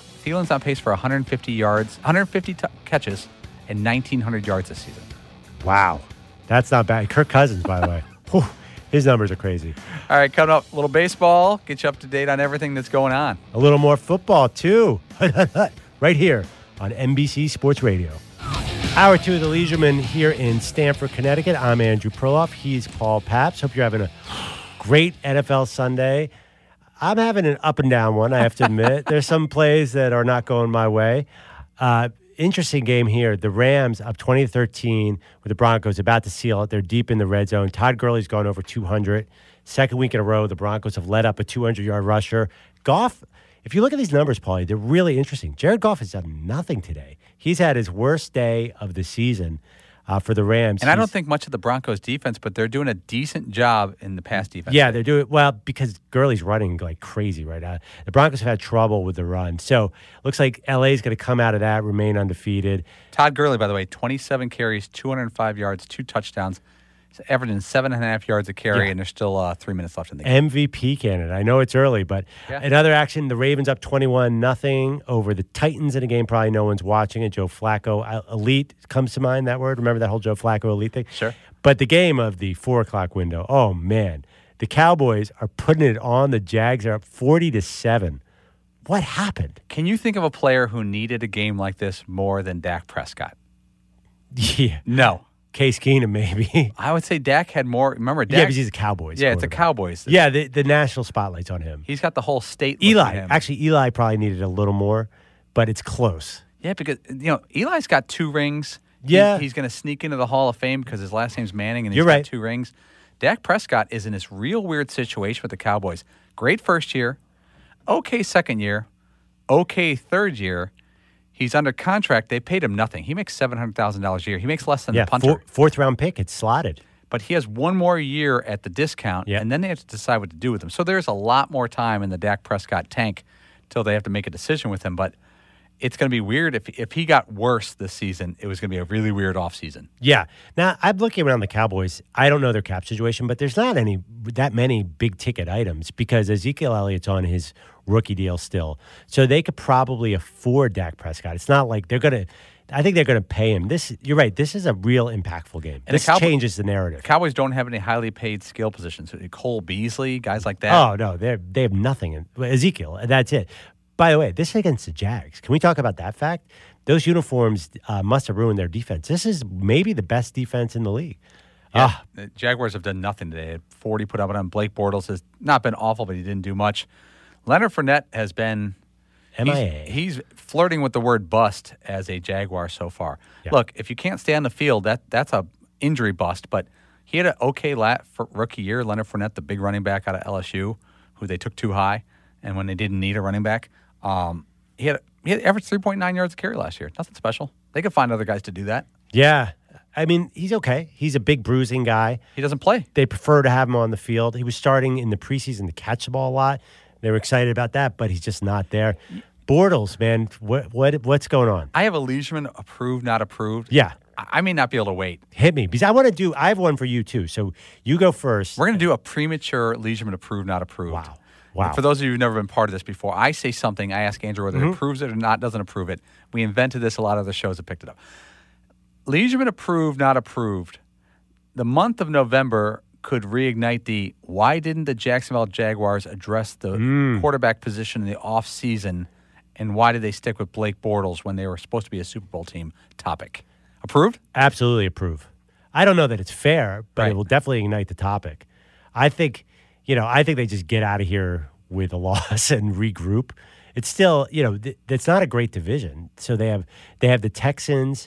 for 150 yards, 150 catches, and 1,900 yards this season. Wow. That's not bad. Kirk Cousins, by the way. Whew, his numbers are crazy. All right, coming up, a little baseball. Get you up to date on everything that's going on. A little more football, too. Right here on NBC Sports Radio. Hour 2 of the Leisureman here in Stamford, Connecticut. I'm Andrew Perloff. He's Paul Pabst. Hope you're having a great NFL Sunday. I'm having an up and down one, I have to admit. There's some plays that are not going my way. Interesting game here. The Rams up 20-13 with the Broncos about to seal it. They're deep in the red zone. Todd Gurley's gone over 200. Second week in a row, the Broncos have led up a 200-yard rusher. Goff, if you look at these numbers, Paulie, they're really interesting. Jared Goff has done nothing today. He's had his worst day of the season for the Rams. And I don't think much of the Broncos defense, but they're doing a decent job in the pass defense. Yeah, they're doing well because Gurley's running like crazy right now. The Broncos have had trouble with the run. So looks like LA's going to come out of that, remain undefeated. Todd Gurley, by the way, 27 carries, 205 yards, 2 touchdowns. He's averaging 7.5 yards a carry, and there's still 3 minutes left in the game. MVP candidate. I know it's early, but in other action, the Ravens up 21-0 over the Titans in a game probably no one's watching it. Joe Flacco, elite comes to mind, that word. Remember that whole Joe Flacco elite thing? Sure. But the game of the 4 o'clock window, oh, man. The Cowboys are putting it on. The Jags are up 40-7. What happened? Can you think of a player who needed a game like this more than Dak Prescott? Yeah. No. Case Keenum, maybe. I would say Dak had more. Remember, Dak? Yeah, because he's a Cowboys. Yeah, it's the Cowboys. Yeah, the national spotlight's on him. He's got the whole state. Eli probably needed a little more, but it's close. Yeah, because Eli's got 2 rings. Yeah, he's going to sneak into the Hall of Fame because his last name's Manning, and he's got right. 2 rings. Dak Prescott is in this real weird situation with the Cowboys. Great first year, okay second year, okay third year. He's under contract. They paid him nothing. He makes $700,000 a year. He makes less than the punter. Fourth round pick. It's slotted. But he has 1 more year at the discount, and then they have to decide what to do with him. So there's a lot more time in the Dak Prescott tank until they have to make a decision with him. But it's going to be weird. If he got worse this season, it was going to be a really weird offseason. Yeah. Now, I'm looking around the Cowboys. I don't know their cap situation, but there's not that many big-ticket items because Ezekiel Elliott's on his rookie deal still. So they could probably afford Dak Prescott. It's not like they're going to – I think they're going to pay him. You're right. This is a real impactful game. And this changes the narrative. The Cowboys don't have any highly paid skill positions. Cole Beasley, guys like that. Oh, no. They have nothing. Ezekiel, that's it. By the way, this is against the Jags. Can we talk about that fact? Those uniforms must have ruined their defense. This is maybe the best defense in the league. Yeah, the Jaguars have done nothing today. They had 40 put up on them. Blake Bortles has not been awful, but he didn't do much. Leonard Fournette has been MIA. He's flirting with the word bust as a Jaguar so far. Yeah. Look, if you can't stay on the field, that's a injury bust. But he had an okay rookie year. Leonard Fournette, the big running back out of LSU, who they took too high, and when they didn't need a running back. He had averaged 3.9 yards a carry last year. Nothing special. They could find other guys to do that. Yeah. I mean, he's okay. He's a big bruising guy. He doesn't play. They prefer to have him on the field. He was starting in the preseason to catch the ball a lot. They were excited about that, but he's just not there. Bortles, man, what's going on? I have a Leisureman approved, not approved. Yeah. I may not be able to wait. Hit me, because I have one for you, too. So you go first. We're going to do a premature Leisureman approved, not approved. Wow. And for those of you who've never been part of this before, I say something, I ask Andrew whether he approves it or not, doesn't approve it. We invented this. A lot of the shows have picked it up. Leisureman approved, not approved. The month of November could reignite the why didn't the Jacksonville Jaguars address the quarterback position in the offseason, and why did they stick with Blake Bortles when they were supposed to be a Super Bowl team topic? Approved? Absolutely approve. I don't know that it's fair, but it will definitely ignite the topic. I think they just get out of here with a loss and regroup. It's still, it's not a great division. So they have the Texans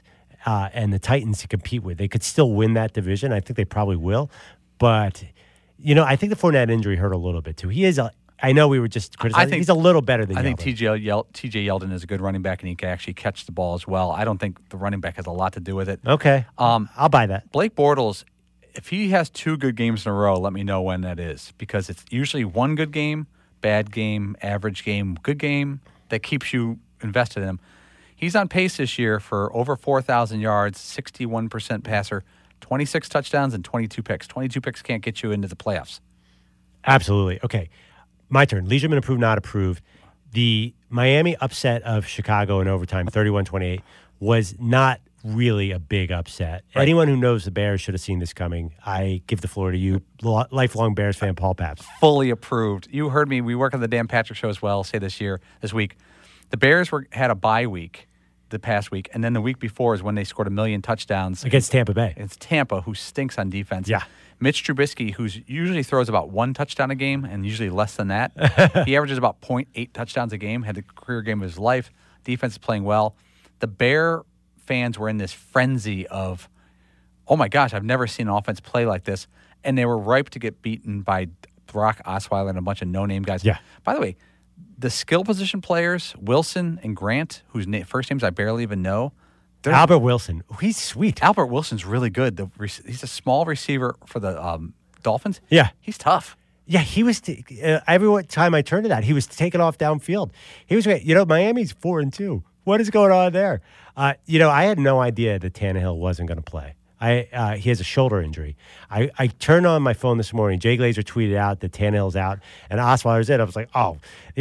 and the Titans to compete with. They could still win that division. I think they probably will. But, I think the Fournette injury hurt a little bit, too. He is I know we were just criticizing. He's a little better than Yeldon. I think T.J. Yeldon is a good running back, and he can actually catch the ball as well. I don't think the running back has a lot to do with it. Okay. I'll buy that. Blake Bortles, if he has 2 good games in a row, let me know when that is, because it's usually 1 good game, bad game, average game, good game that keeps you invested in him. He's on pace this year for over 4,000 yards, 61% passer, 26 touchdowns, and 22 picks. 22 picks can't get you into the playoffs. Absolutely. Okay. My turn. Leisureman approved, not approved. The Miami upset of Chicago in overtime, 31-28, was not really a big upset. Right. Anyone who knows the Bears should have seen this coming. I give the floor to you, lifelong Bears fan Paul Pabst. Fully approved. You heard me. We work on the Dan Patrick Show as well, say this week. The Bears had a bye week the past week, and then the week before is when they scored 1 million touchdowns. Against Tampa Bay. It's Tampa, who stinks on defense. Yeah. Mitch Trubisky, who usually throws about 1 touchdown a game and usually less than that. He averages about 0.8 touchdowns a game, had the career game of his life. Defense is playing well. The Bear fans were in this frenzy of, oh my gosh, I've never seen an offense play like this. And they were ripe to get beaten by Brock Osweiler and a bunch of no-name guys. Yeah. By the way, the skill position players, Wilson and Grant, whose first names I barely even know. Albert Wilson. He's sweet. Albert Wilson's really good. He's a small receiver for the Dolphins. Yeah. He's tough. Yeah, he was. Every time I turned to that, he was taking off downfield. He was great. Miami's 4-2. What is going on there? I had no idea that Tannehill wasn't going to play. He has a shoulder injury. I turned on my phone this morning. Jay Glazer tweeted out that Tannehill's out and Osweiler's in. I was like, oh,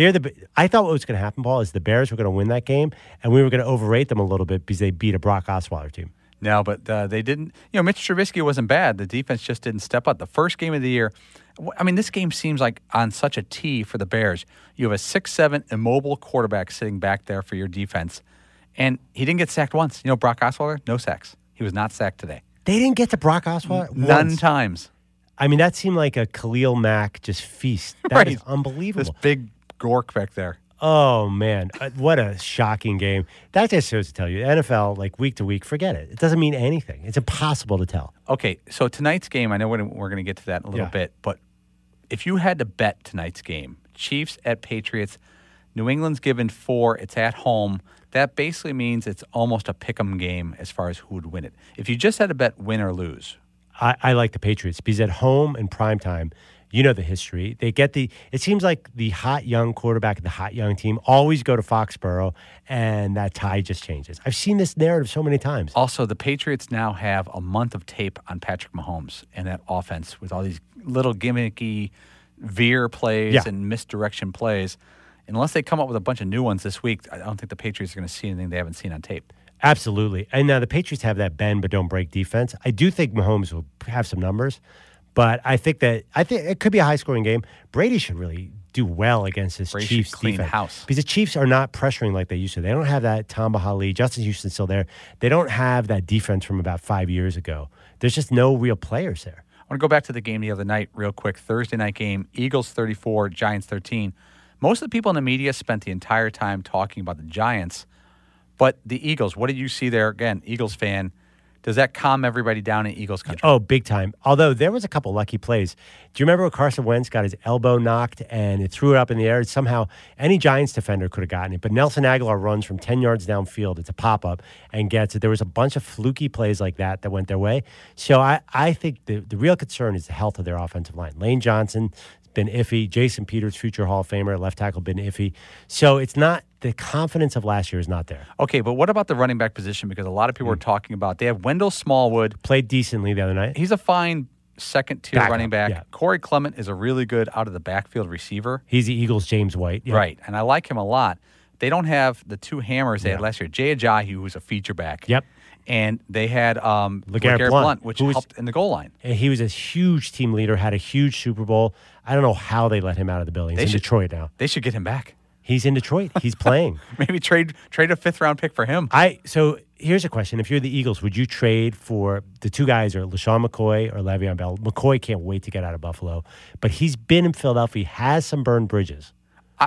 I thought what was going to happen, Paul, is the Bears were going to win that game, and we were going to overrate them a little bit because they beat a Brock Osweiler team. No, but they didn't. Mitch Trubisky wasn't bad. The defense just didn't step up. The first game of the year, this game seems like on such a tee for the Bears. You have a 6'7" immobile quarterback sitting back there for your defense, and he didn't get sacked once. Brock Osweiler, no sacks. He was not sacked today. They didn't get to Brock Osweiler? None times. That seemed like a Khalil Mack just feast. That is unbelievable. This big gork back there. Oh, man. What a shocking game. That just shows to tell you, NFL, week to week, forget it. It doesn't mean anything. It's impossible to tell. Okay, so tonight's game, I know we're going to get to that in a little bit, but if you had to bet tonight's game, Chiefs at Patriots, New England's given 4, it's at home. That basically means it's almost a pick'em game as far as who would win it. If you just had to bet win or lose. I like the Patriots because at home in primetime, you know the history. It seems like the hot young quarterback and the hot young team always go to Foxborough, and that tie just changes. I've seen this narrative so many times. Also, the Patriots now have a month of tape on Patrick Mahomes and that offense with all these little gimmicky veer plays and misdirection plays. Unless they come up with a bunch of new ones this week, I don't think the Patriots are going to see anything they haven't seen on tape. Absolutely. And now the Patriots have that bend but don't break defense. I do think Mahomes will have some numbers, but I think it could be a high-scoring game. Brady should really do well against this Chiefs clean defense. House. Because the Chiefs are not pressuring like they used to. They don't have that Tamba Hali. Justin Houston's still there. They don't have that defense from about 5 years ago. There's just no real players there. I want to go back to the game the other night real quick. Thursday night game, Eagles 34, Giants 13. Most of the people in the media spent the entire time talking about the Giants, but the Eagles, what did you see there? Again, Eagles fan, does that calm everybody down in Eagles country? Oh, big time. Although there was a couple lucky plays. Do you remember when Carson Wentz got his elbow knocked and it threw it up in the air? Somehow any Giants defender could have gotten it, but Nelson Aguilar runs from 10 yards downfield. It's a pop-up and gets it. There was a bunch of fluky plays like that went their way. So I think the real concern is the health of their offensive line. Lane Johnson been iffy. Jason Peters, future Hall of Famer, left tackle, been iffy. So it's not, the confidence of last year is not there. Okay, but what about the running back position? Because a lot of people are talking about, they have Wendell Smallwood. Played decently the other night. He's a fine second-tier running back. Yeah. Corey Clement is a really good out-of-the-backfield receiver. He's the Eagles' James White. Yeah. Right, and I like him a lot. They don't have the two hammers they had last year. Jay Ajayi, who was a feature back. Yep. And they had LeGarrette Blount, which helped in the goal line. And he was a huge team leader, had a huge Super Bowl. I don't know how they let him out of the building. He's in Detroit now. They should get him back. He's in Detroit. He's playing. Maybe trade a fifth-round pick for him. So here's a question. If you're the Eagles, would you trade for the two guys, or LaShawn McCoy or Le'Veon Bell? McCoy can't wait to get out of Buffalo. But he's been in Philadelphia, has some burned bridges.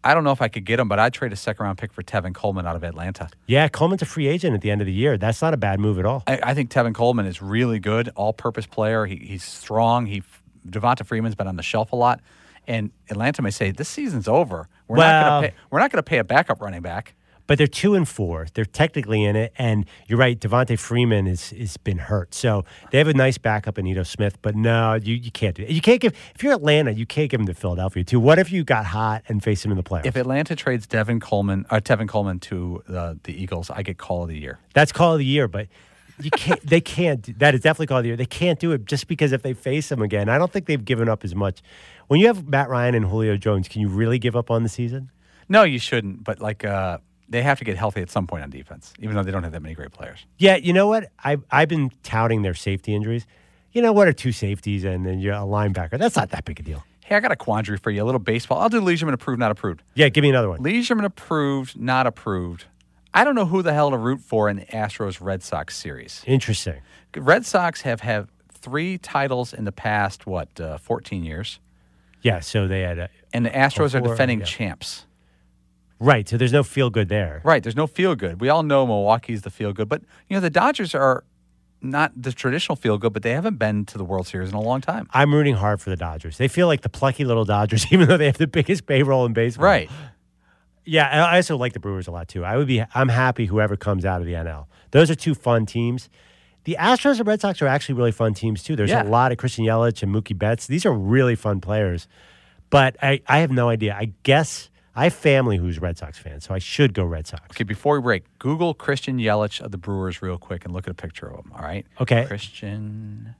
I don't know if I could get him, but I'd trade a second-round pick for Tevin Coleman out of Atlanta. Yeah, Coleman's a free agent at the end of the year. That's not a bad move at all. I think Tevin Coleman is really good, all-purpose player. He's strong. Devonta Freeman's been on the shelf a lot, and Atlanta may say this season's over. We're not going to pay a backup running back. But they're 2-4. They're technically in it, and you're right. Devonta Freeman is been hurt, so they have a nice backup in Ito Smith. But no, you can't do it. You can't give if you're Atlanta, you can't give him to Philadelphia too. What if you got hot and faced him in the playoffs? If Atlanta trades Tevin Coleman to the Eagles, I get call of the year. That's call of the year, but you can't. They can't. That is definitely call of the year. They can't do it just because if they face him again, I don't think they've given up as much. When you have Matt Ryan and Julio Jones, can you really give up on the season? No, you shouldn't. But they have to get healthy at some point on defense, even though they don't have that many great players. Yeah, you know what? I've been touting their safety injuries. You know, what are 2 safeties and then you're a linebacker? That's not that big a deal. Hey, I got a quandary for you, a little baseball. I'll do Leishman approved, not approved. Yeah, give me another one. Leishman approved, not approved. I don't know who the hell to root for in the Astros-Red Sox series. Interesting. Red Sox have 3 titles in the past, 14 years? Yeah, so they had and the Astros are defending champs. Right, so there's no feel-good there. Right, there's no feel-good. We all know Milwaukee's the feel-good. But, the Dodgers are not the traditional feel-good, but they haven't been to the World Series in a long time. I'm rooting hard for the Dodgers. They feel like the plucky little Dodgers, even though they have the biggest payroll in baseball. Right. Yeah, I also like the Brewers a lot, too. I'm happy whoever comes out of the NL. Those are 2 fun teams. The Astros and Red Sox are actually really fun teams, too. There's a lot of Christian Yelich and Mookie Betts. These are really fun players. But I have no idea. I guess I have family who's Red Sox fans, so I should go Red Sox. Okay, before we break, Google Christian Yelich of the Brewers real quick and look at a picture of him, all right? Okay. Christian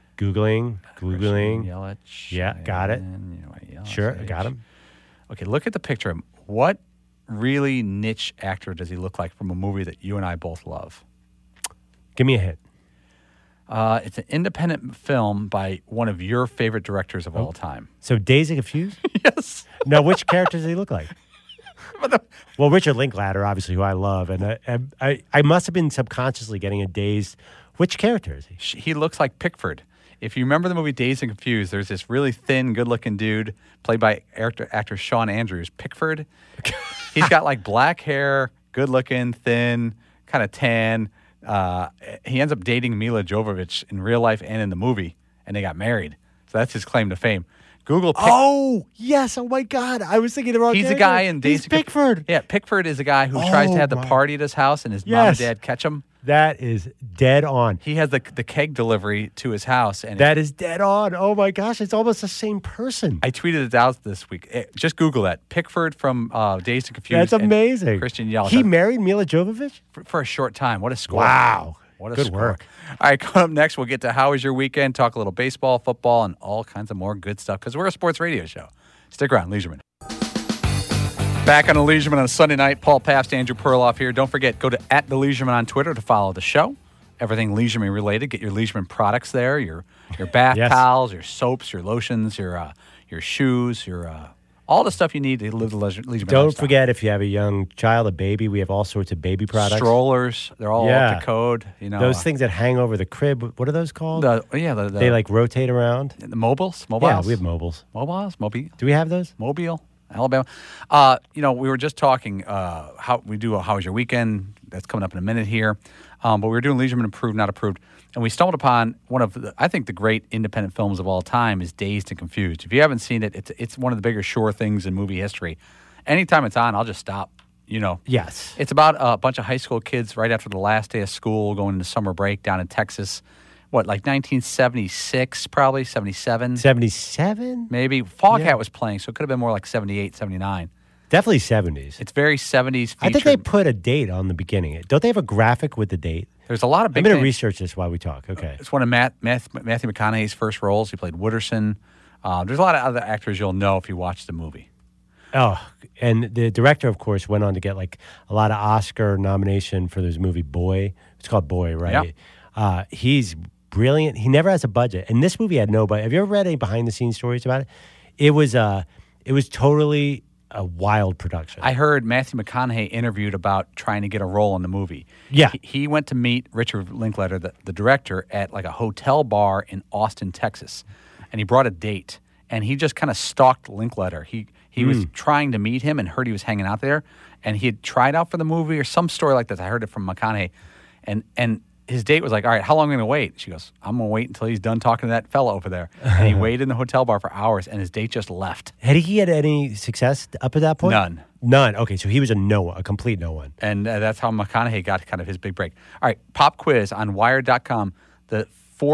Yelich. Yeah, got it. Yelich. Sure, I got him. Okay, look at the picture of him. What really niche actor does he look like from a movie that you and I both love? Give me a hint. It's an independent film by one of your favorite directors of all time. So Dazed and Confused? Yes. No, which character does he look like? Well, Richard Linklater, obviously, who I love. And I must have been subconsciously getting a Dazed. Which character is he? He looks like Pickford. If you remember the movie Dazed and Confused, there's this really thin, good-looking dude played by actor Shawn Andrews, Pickford. He's got like black hair, good-looking, thin, kind of tan. He ends up dating Mila Jovovich in real life and in the movie, and they got married. So that's his claim to fame. Google. Oh yes! Oh my God! I was thinking the wrong. He's a guy in Dazed. He's Pickford. Yeah, Pickford is a guy who tries to have the party at his house, and his mom and dad catch him. That is dead on. He has the keg delivery to his house, and that is dead on. Oh my gosh! It's almost the same person. I tweeted it out this week. Just Google that. Pickford from Dazed and Confused. That's amazing. Christian Yelich. He married Mila Jovovich for a short time. What a score! Wow. What a good score. Work. All right, coming up next, we'll get to how was your weekend, talk a little baseball, football, and all kinds of more good stuff because we're a sports radio show. Stick around, Leisureman. Back on the Leisureman on a Sunday night. Paul Pabst, Andrew Perloff here. Don't forget, go to @TheLeisureman on Twitter to follow the show. Everything Leisureman related. Get your Leisureman products there, your bath towels, your soaps, your lotions, your shoes, your all the stuff you need to live the Leisureman Don't lifestyle. forget, if you have a young child, a baby, we have all sorts of baby products. Strollers, they're all up to code. Those things that hang over the crib, what are those called? They like rotate around. The mobiles? Yeah, we have mobiles. Mobile. Do we have those? Mobile, Alabama. We were just talking how was your weekend? That's coming up in a minute here. But we were doing Leisureman Approved, Not Approved. And we stumbled upon one of the great independent films of all time is Dazed and Confused. If you haven't seen it, it's one of the bigger sure things in movie history. Anytime it's on, I'll just stop. Yes. It's about a bunch of high school kids right after the last day of school going into summer break down in Texas. What, like 1976, probably 77? 77? Maybe. Foghat was playing, so it could have been more like 78, 79. Definitely 70s. It's very 70s featured. I think they put a date on the beginning. Don't they have a graphic with the date? There's a lot of big I'm going to research this while we talk. Okay. It's one of Matthew McConaughey's first roles. He played Wooderson. There's a lot of other actors you'll know if you watch the movie. Oh, and the director, of course, went on to get like a lot of Oscar nomination for this movie, Boy. It's called Boy, right? Yeah. He's brilliant. He never has a budget. And this movie had no budget. Have you ever read any behind-the-scenes stories about it? It was totally a wild production. I heard Matthew McConaughey interviewed about trying to get a role in the movie. Yeah. He went to meet Richard Linklater, the director, at like a hotel bar in Austin, Texas. And he brought a date. And he just kind of stalked Linklater. He He was trying to meet him and heard he was hanging out there. And he had tried out for the movie or some story like this. I heard it from McConaughey. And his date was like, all right, how long am I going to wait? She goes, I'm going to wait until he's done talking to that fella over there. And he waited in the hotel bar for hours, and his date just left. Had he had any success up at that point? None. Okay, so he was a complete no one. And that's how McConaughey got kind of his big break. All right, pop quiz on Wired.com. The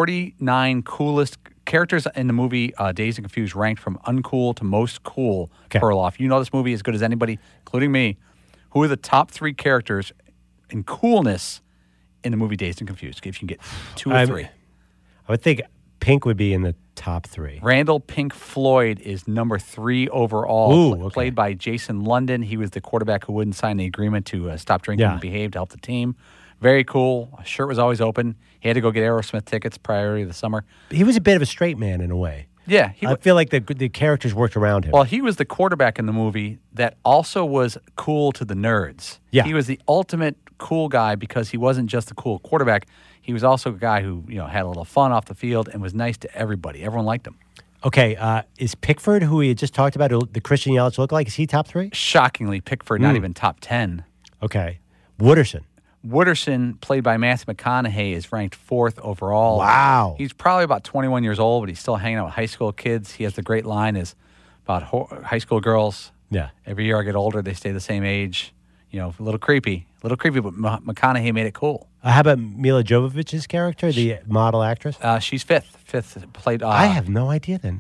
49 coolest characters in the movie Dazed and Confused ranked from uncool to most cool. Okay. Perloff. You know this movie as good as anybody, including me. Who are the top 3 characters in coolness in the movie Dazed and Confused? If you can get 2 or 3. I would think Pink would be in the top 3. Randall Pink Floyd is number 3 overall. Ooh, okay. Played by Jason London. He was the quarterback who wouldn't sign the agreement to stop drinking and behave to help the team. Very cool. His shirt was always open. He had to go get Aerosmith tickets prior to the summer. He was a bit of a straight man in a way. Yeah. I feel like the characters worked around him. Well, he was the quarterback in the movie that also was cool to the nerds. Yeah. He was the ultimate cool guy because he wasn't just the cool quarterback. He was also a guy who had a little fun off the field and was nice to everybody. Everyone liked him. Okay, is Pickford, who we had just talked about, the Christian Yelich look like, is he top 3? Shockingly, Pickford, not even top 10. Okay. Wooderson, played by Matthew McConaughey, is ranked 4th overall. Wow. He's probably about 21 years old, but he's still hanging out with high school kids. He has the great line is about high school girls. Yeah. Every year I get older, they stay the same age. A little creepy, but McConaughey made it cool. How about Mila Jovovich's character, the model actress? She's 5th. Played. I have no idea then.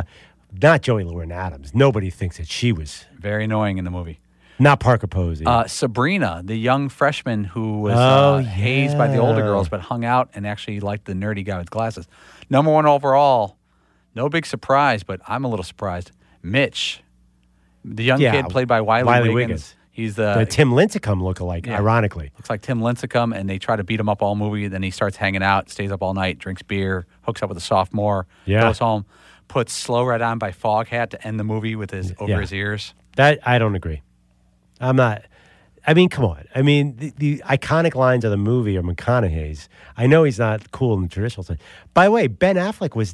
Not Joey Lauren Adams. Nobody thinks that she was very annoying in the movie. Not Parker Posey. Sabrina, the young freshman who was hazed by the older girls, but hung out and actually liked the nerdy guy with glasses. Number 1 overall. No big surprise, but I'm a little surprised. Mitch, the young kid played by Wiley Wiggins. He's the Tim Lincecum lookalike, ironically. Looks like Tim Lincecum, and they try to beat him up all movie. Then he starts hanging out, stays up all night, drinks beer, hooks up with a sophomore, goes home, puts Slow Ride On by Foghat to end the movie with his over his ears. That I don't agree. I'm not. I mean, come on. I mean, the iconic lines of the movie are McConaughey's. I know he's not cool in the traditional sense. By the way, Ben Affleck was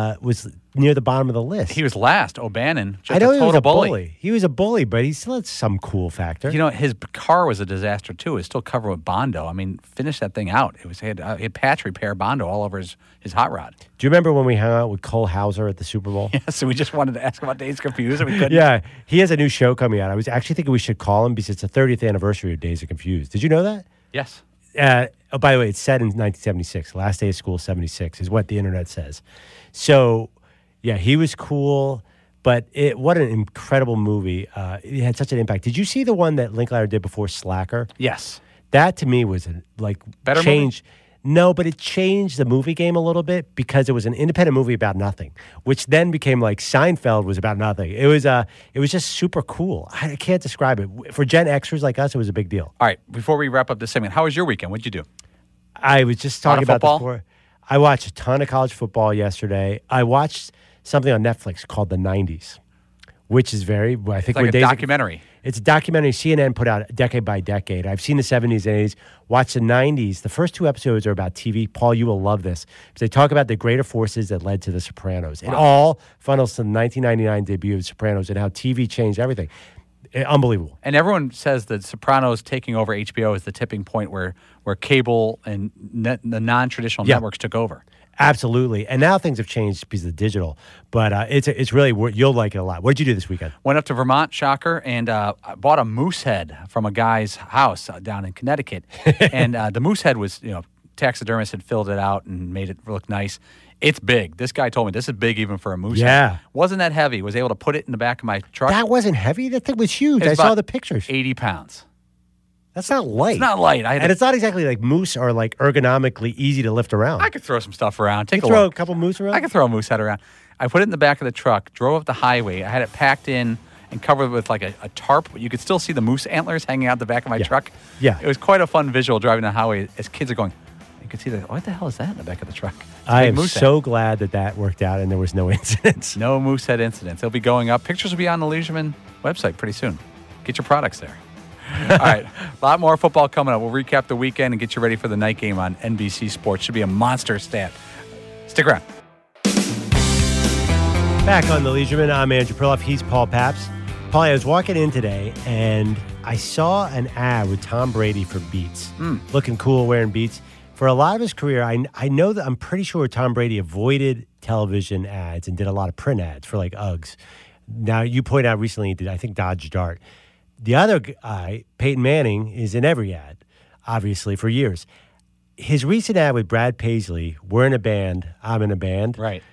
near the bottom of the list. He was last. O'Bannon, just I know a total he was a bully. He was a bully, but he still had some cool factor. His car was a disaster too. It was still covered with Bondo. I mean, finish that thing out. He had patch repair Bondo all over his hot rod. Do you remember when we hung out with Cole Hauser at the Super Bowl? Yes, so we just wanted to ask about Dazed and Confused, and we couldn't. Yeah, he has a new show coming out. I was actually thinking we should call him because it's the 30th anniversary of Dazed and Confused. Did you know that? Yes. By the way, it's set in 1976. Last day of school, 76, is what the internet says. So, yeah, he was cool, but what an incredible movie. It had such an impact. Did you see the one that Linklater did before Slacker? Yes. That, to me, was better change. Movie? No, but it changed the movie game a little bit because it was an independent movie about nothing, which then became like Seinfeld was about nothing. It was just super cool. I can't describe it. For Gen Xers like us, it was a big deal. All right, before we wrap up this segment, how was your weekend? What'd you do? I was just talking about this before. I watched a ton of college football yesterday. I watched something on Netflix called The 90s, which is it's like a documentary. It's a documentary CNN put out decade by decade. I've seen the 70s and 80s, watched the 90s. The first 2 episodes are about TV. Paul, you will love this. Because they talk about the greater forces that led to The Sopranos. Wow. It all funnels to the 1999 debut of The Sopranos and how TV changed everything. Unbelievable. And everyone says that Sopranos taking over HBO is the tipping point where cable and the non-traditional networks took over. Absolutely. And now things have changed because of digital. But it's really, you'll like it a lot. What did you do this weekend? Went up to Vermont, shocker, and I bought a moose head from a guy's house down in Connecticut. And the moose head was, taxidermist had filled it out and made it look nice. It's big. This guy told me this is big even for a moose head. Wasn't that heavy. Was able to put it in the back of my truck. That wasn't heavy? That thing was huge. I saw the pictures. 80 pounds. That's not light. It's not light. And it's not exactly like moose are like ergonomically easy to lift around. I could throw some stuff around. Throw a couple moose around? I could throw a moose head around. I put it in the back of the truck, drove up the highway. I had it packed in and covered with like a tarp. You could still see the moose antlers hanging out the back of my truck. Yeah. It was quite a fun visual driving the highway as kids are going, you could see what the hell is that in the back of the truck? I am so glad that worked out and there was no incidents. No moose head incidents. They'll be going up. Pictures will be on the Leisureman website pretty soon. Get your products there. All right, a lot more football coming up. We'll recap the weekend and get you ready for the night game on NBC Sports. Should be a monster stat. Stick around. Back on the Leisureman, I'm Andrew Perloff. He's Paul Pabst. Paulie, I was walking in today, and I saw an ad with Tom Brady for Beats. Looking cool, wearing Beats. For a lot of his career, I know that I'm pretty sure Tom Brady avoided television ads and did a lot of print ads for, like, Uggs. Now, you point out recently he did, I think, Dodge Dart. The other guy, Peyton Manning, is in every ad, obviously, for years. His recent ad with Brad Paisley, we're in a band, I'm in a band. Right.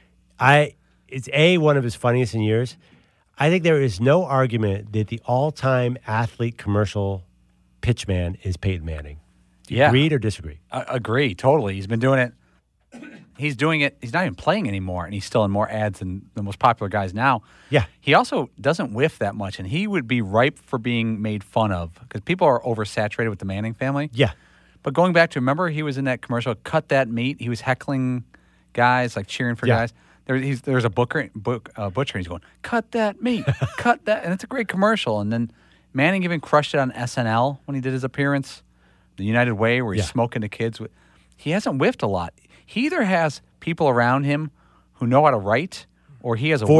It's one of his funniest in years. I think there is no argument that the all-time athlete commercial pitchman is Peyton Manning. Do you agree or disagree? Agree, totally. He's been doing it. He's doing it. He's not even playing anymore, and he's still in more ads than the most popular guys now. Yeah. He also doesn't whiff that much, and he would be ripe for being made fun of because people are oversaturated with the Manning family. Yeah. But going back to, remember he was in that commercial, Cut That Meat? He was heckling guys, like cheering for guys. There's a butcher, and he's going, cut that meat, cut that. And it's a great commercial. And then Manning even crushed it on SNL when he did his appearance, The United Way, where he's smoking the kids. He hasn't whiffed a lot. He either has people around him who know how to write, or he has a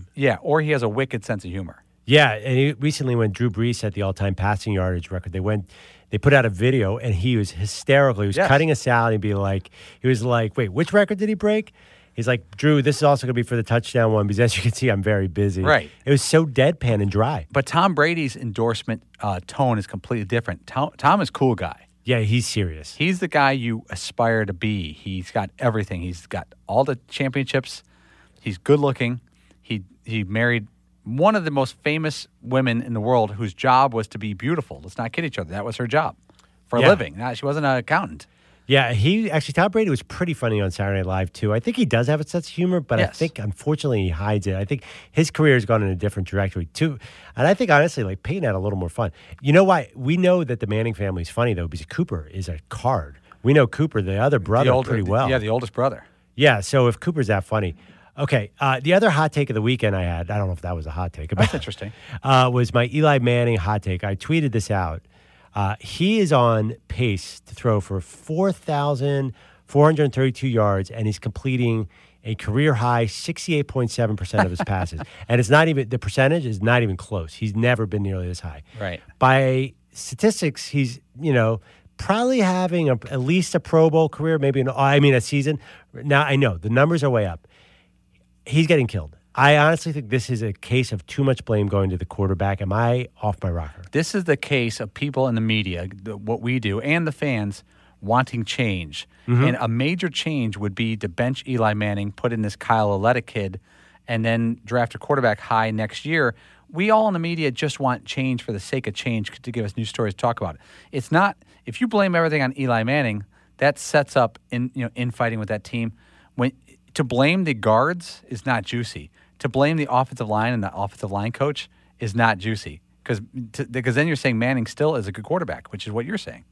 or he has a wicked sense of humor. Yeah, and recently when Drew Brees set the all-time passing yardage record, they put out a video, and he was hysterical. He was cutting us out, and he was like, wait, which record did he break? He's like, Drew, this is also going to be for the touchdown one because, as you can see, I'm very busy. Right. It was so deadpan and dry. But Tom Brady's endorsement tone is completely different. Tom is a cool guy. Yeah, he's serious. He's the guy you aspire to be. He's got everything. He's got all the championships. He's good looking. He married one of the most famous women in the world whose job was to be beautiful. Let's not kid each other. That was her job for a living. She wasn't an accountant. Yeah, Tom Brady was pretty funny on Saturday Night Live, too. I think he does have a sense of humor, but I think, unfortunately, he hides it. I think his career has gone in a different trajectory, too. And I think, honestly, like, Peyton had a little more fun. You know why? We know that the Manning family is funny, though, because Cooper is a card. We know Cooper, the other brother, pretty well. Yeah, the oldest brother. Yeah, so if Cooper's that funny. Okay, the other hot take of the weekend I had, I don't know if that was a hot take. That's interesting. Was my Eli Manning hot take. I tweeted this out. He is on pace to throw for 4,432 yards, and he's completing a career-high 68.7% of his passes. And it's not even – the percentage is not even close. He's never been nearly this high. Right. By statistics, he's, probably having at least a Pro Bowl career, maybe a season. Now, I know the numbers are way up. He's getting killed. I honestly think this is a case of too much blame going to the quarterback. Am I off my rocker? This is the case of people in the media, what we do, and the fans wanting change. Mm-hmm. And a major change would be to bench Eli Manning, put in this Kyle Lauletta kid, and then draft a quarterback high next year. We all in the media just want change for the sake of change to give us new stories to talk about. It's not – if you blame everything on Eli Manning, that sets up infighting with that team. To blame the guards is not juicy. To blame the offensive line and the offensive line coach is not juicy because then you're saying Manning still is a good quarterback, which is what you're saying.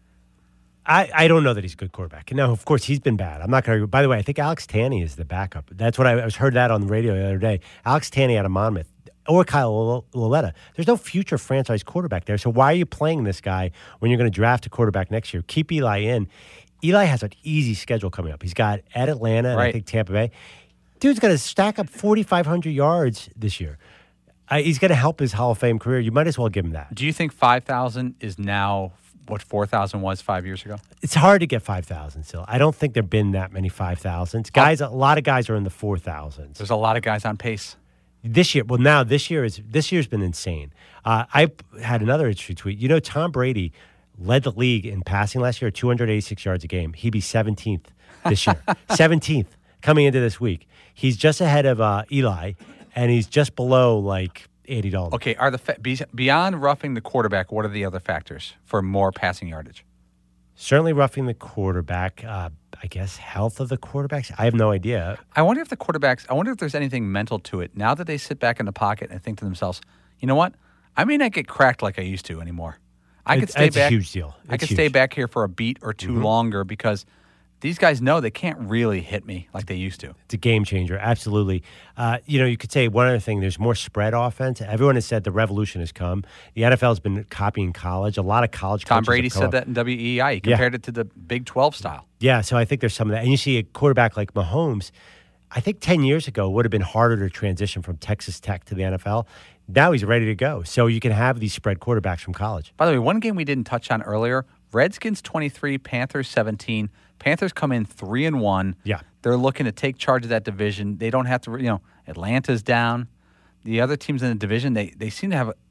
I don't know that he's a good quarterback. Now, of course, he's been bad. I'm not going to. By the way, I think Alex Tanney is the backup. That's what I heard that on the radio the other day. Alex Tanney out of Monmouth or Kyle Lauletta. There's no future franchise quarterback there. So why are you playing this guy when you're going to draft a quarterback next year? Keep Eli in. Eli has an easy schedule coming up. He's got at Atlanta and I think Tampa Bay. Dude's going to stack up 4,500 yards this year. He's going to help his Hall of Fame career. You might as well give him that. Do you think 5,000 is now what 4,000 was 5 years ago? It's hard to get 5,000 still. I don't think there have been that many 5,000s. Guys, a lot of guys are in the 4,000s. There's a lot of guys on pace. This year, this year's been insane. I had another interesting tweet. Tom Brady led the league in passing last year, 286 yards a game. He'd be 17th this year. 17th coming into this week. He's just ahead of Eli, and he's just below like Andy Dalton. Okay, beyond roughing the quarterback, what are the other factors for more passing yardage? Certainly roughing the quarterback. I guess health of the quarterbacks. I have no idea. I wonder if there's anything mental to it now that they sit back in the pocket and think to themselves, you know what? I may not get cracked like I used to anymore. I could stay back. It's a huge deal. I could stay back here for a beat or two longer because these guys know they can't really hit me like they used to. It's a game changer, absolutely. You could say one other thing, there's more spread offense. Everyone has said the revolution has come. The NFL has been copying college. A lot of college Tom Brady said that in WEEI. He compared it to the Big 12 style. Yeah, so I think there's some of that. And you see a quarterback like Mahomes, I think 10 years ago would have been harder to transition from Texas Tech to the NFL. Now he's ready to go. So you can have these spread quarterbacks from college. By the way, one game we didn't touch on earlier, Redskins 23, Panthers 17. Panthers come in 3-1. Yeah. They're looking to take charge of that division. They don't have to, Atlanta's down. The other teams in the division, they seem to have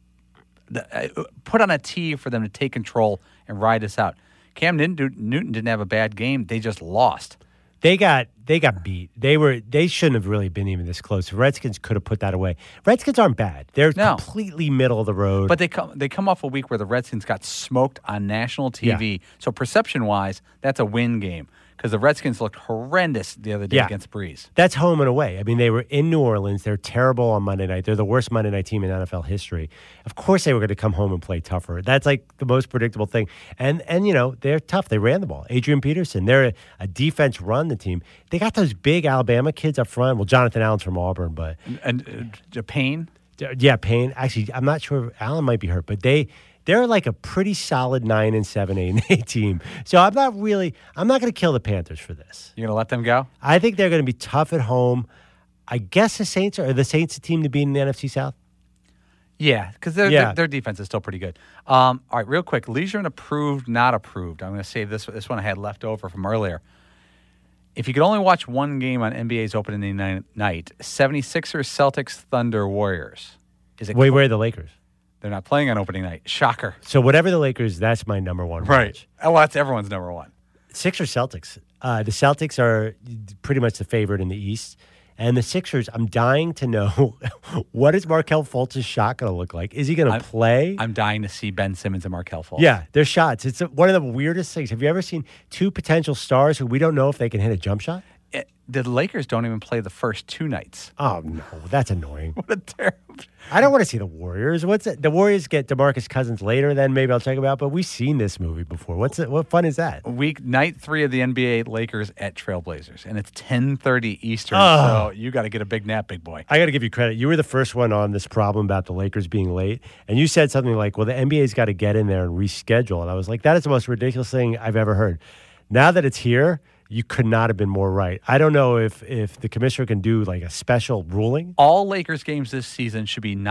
put on a tee for them to take control and ride us out. Cam Newton didn't have a bad game. They just lost. They got beat. They shouldn't have really been even this close. Redskins could have put that away. Redskins aren't bad. They're completely middle of the road. But they come off a week where the Redskins got smoked on national TV. Yeah. So perception-wise, that's a win game because the Redskins looked horrendous the other day against Breeze. That's home and away. I mean, they were in New Orleans. They're terrible on Monday night. They're the worst Monday night team in NFL history. Of course they were going to come home and play tougher. That's like the most predictable thing. And they're tough. They ran the ball. Adrian Peterson, they're a defense run the team. They got those big Alabama kids up front. Well, Jonathan Allen's from Auburn, but Payne? Yeah, Payne. Actually, I'm not sure. Allen might be hurt, but they're like a pretty solid 9-7, 8-8 team. So I'm not going to kill the Panthers for this. You're going to let them go? I think they're going to be tough at home. I guess the Saints are the Saints a team to beat in the NFC South? Yeah, because their defense is still pretty good. All right, real quick. Leisure and approved, not approved. I'm going to save this one I had left over from earlier. If you could only watch one game on NBA's opening night, 76ers, Celtics, Thunder, Warriors. Wait, where are the Lakers? They're not playing on opening night. Shocker. So whatever the Lakers, that's my number one. Right. Watch. Well, that's everyone's number one. Sixers, Celtics. The Celtics are pretty much the favorite in the East. And the Sixers, I'm dying to know, what is Markelle Fultz's shot going to look like? Is he going to play? I'm dying to see Ben Simmons and Markelle Fultz. Yeah, their shots. It's one of the weirdest things. Have you ever seen two potential stars who we don't know if they can hit a jump shot? The Lakers don't even play the first two nights. Oh, no. That's annoying. What a terrible... I don't want to see the Warriors. What's it? The Warriors get DeMarcus Cousins later, then maybe I'll check them out. But we've seen this movie before. What fun is that? Night 3 of the NBA, Lakers at Trailblazers. And it's 10:30 Eastern, so you got to get a big nap, big boy. I got to give you credit. You were the first one on this problem about the Lakers being late. And you said something like, well, the NBA's got to get in there and reschedule. And I was like, that is the most ridiculous thing I've ever heard. Now that it's here, you could not have been more right. I don't know if the commissioner can do like a special ruling. All Lakers games this season should be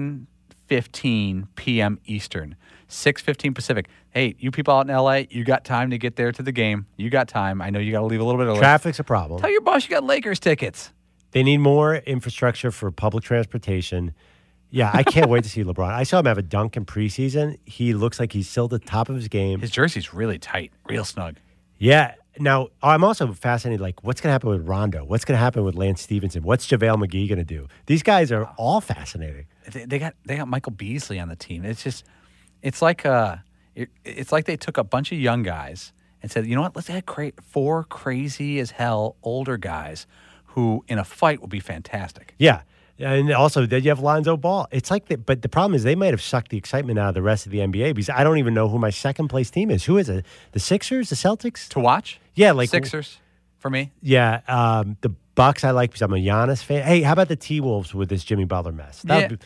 9:15 p.m. Eastern, 6:15 Pacific. Hey, you people out in L.A., you got time to get there to the game. You got time. I know you got to leave a little bit early. Traffic's a problem. Tell your boss you got Lakers tickets. They need more infrastructure for public transportation. Yeah, I can't wait to see LeBron. I saw him have a dunk in preseason. He looks like he's still at the top of his game. His jersey's really tight, real snug. Yeah. Now, I'm also fascinated, like, what's going to happen with Rondo? What's going to happen with Lance Stevenson? What's JaVale McGee going to do? These guys are all fascinating. They got Michael Beasley on the team. It's like they took a bunch of young guys and said, you know what, let's add 4 crazy as hell older guys who in a fight will be fantastic. Yeah. And also, then you have Lonzo Ball. It's like but the problem is they might have sucked the excitement out of the rest of the NBA because I don't even know who my second place team is. Who is it? The Sixers? The Celtics? To watch? Yeah, like Sixers for me. Yeah, the Bucks I like because I'm a Giannis fan. Hey, how about the T-Wolves with this Jimmy Butler mess?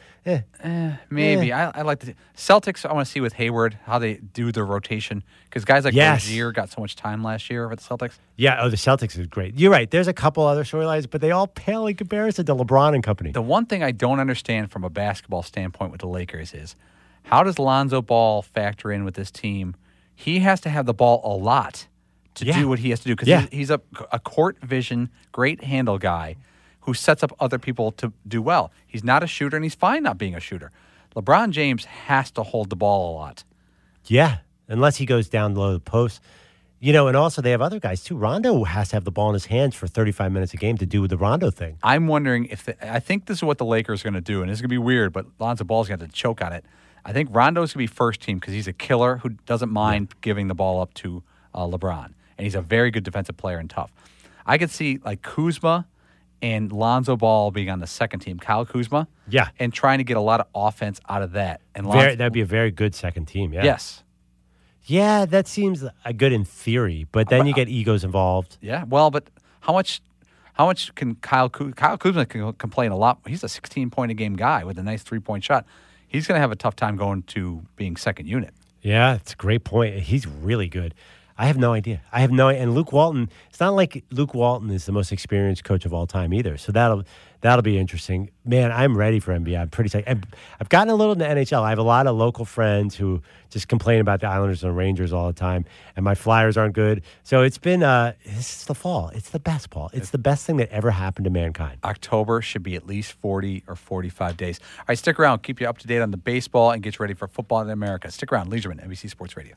Maybe. I like the Celtics. I want to see with Hayward how they do their rotation because guys like Rozier got so much time last year with the Celtics. Yeah, the Celtics is great. You're right. There's a couple other storylines, but they all pale in comparison to LeBron and company. The one thing I don't understand from a basketball standpoint with the Lakers is how does Lonzo Ball factor in with this team? He has to have the ball a lot to do what he has to do because he's a court vision, great handle guy who sets up other people to do well. He's not a shooter, and he's fine not being a shooter. LeBron James has to hold the ball a lot. Yeah, unless he goes down low the post. And also they have other guys, too. Rondo has to have the ball in his hands for 35 minutes a game to do the Rondo thing. I'm wondering I think this is what the Lakers are going to do, and it's going to be weird, but Lonzo Ball's going to have to choke on it. I think Rondo's going to be first team because he's a killer who doesn't mind giving the ball up to LeBron. And he's a very good defensive player and tough. I could see like Kuzma and Lonzo Ball being on the second team, Kyle Kuzma. Yeah. And trying to get a lot of offense out of that. And that'd be a very good second team, yeah. Yes. Yeah, that seems good in theory, but then you get egos involved. Yeah, well, but how much can Kyle Kuzma can complain a lot. He's a 16-point-a-game guy with a nice 3-point shot. He's going to have a tough time going to being second unit. Yeah, it's a great point. He's really good. I have no idea. And Luke Walton, it's not like Luke Walton is the most experienced coach of all time either. So that'll be interesting. Man, I'm ready for NBA. I'm pretty excited. I've gotten a little into NHL. I have a lot of local friends who just complain about the Islanders and Rangers all the time, and my Flyers aren't good. So it's been, this is the fall. It's the best, Paul. It's the best thing that ever happened to mankind. October should be at least 40 or 45 days. All right, stick around. Keep you up to date on the baseball and get you ready for football in America. Stick around. Leisureman, NBC Sports Radio.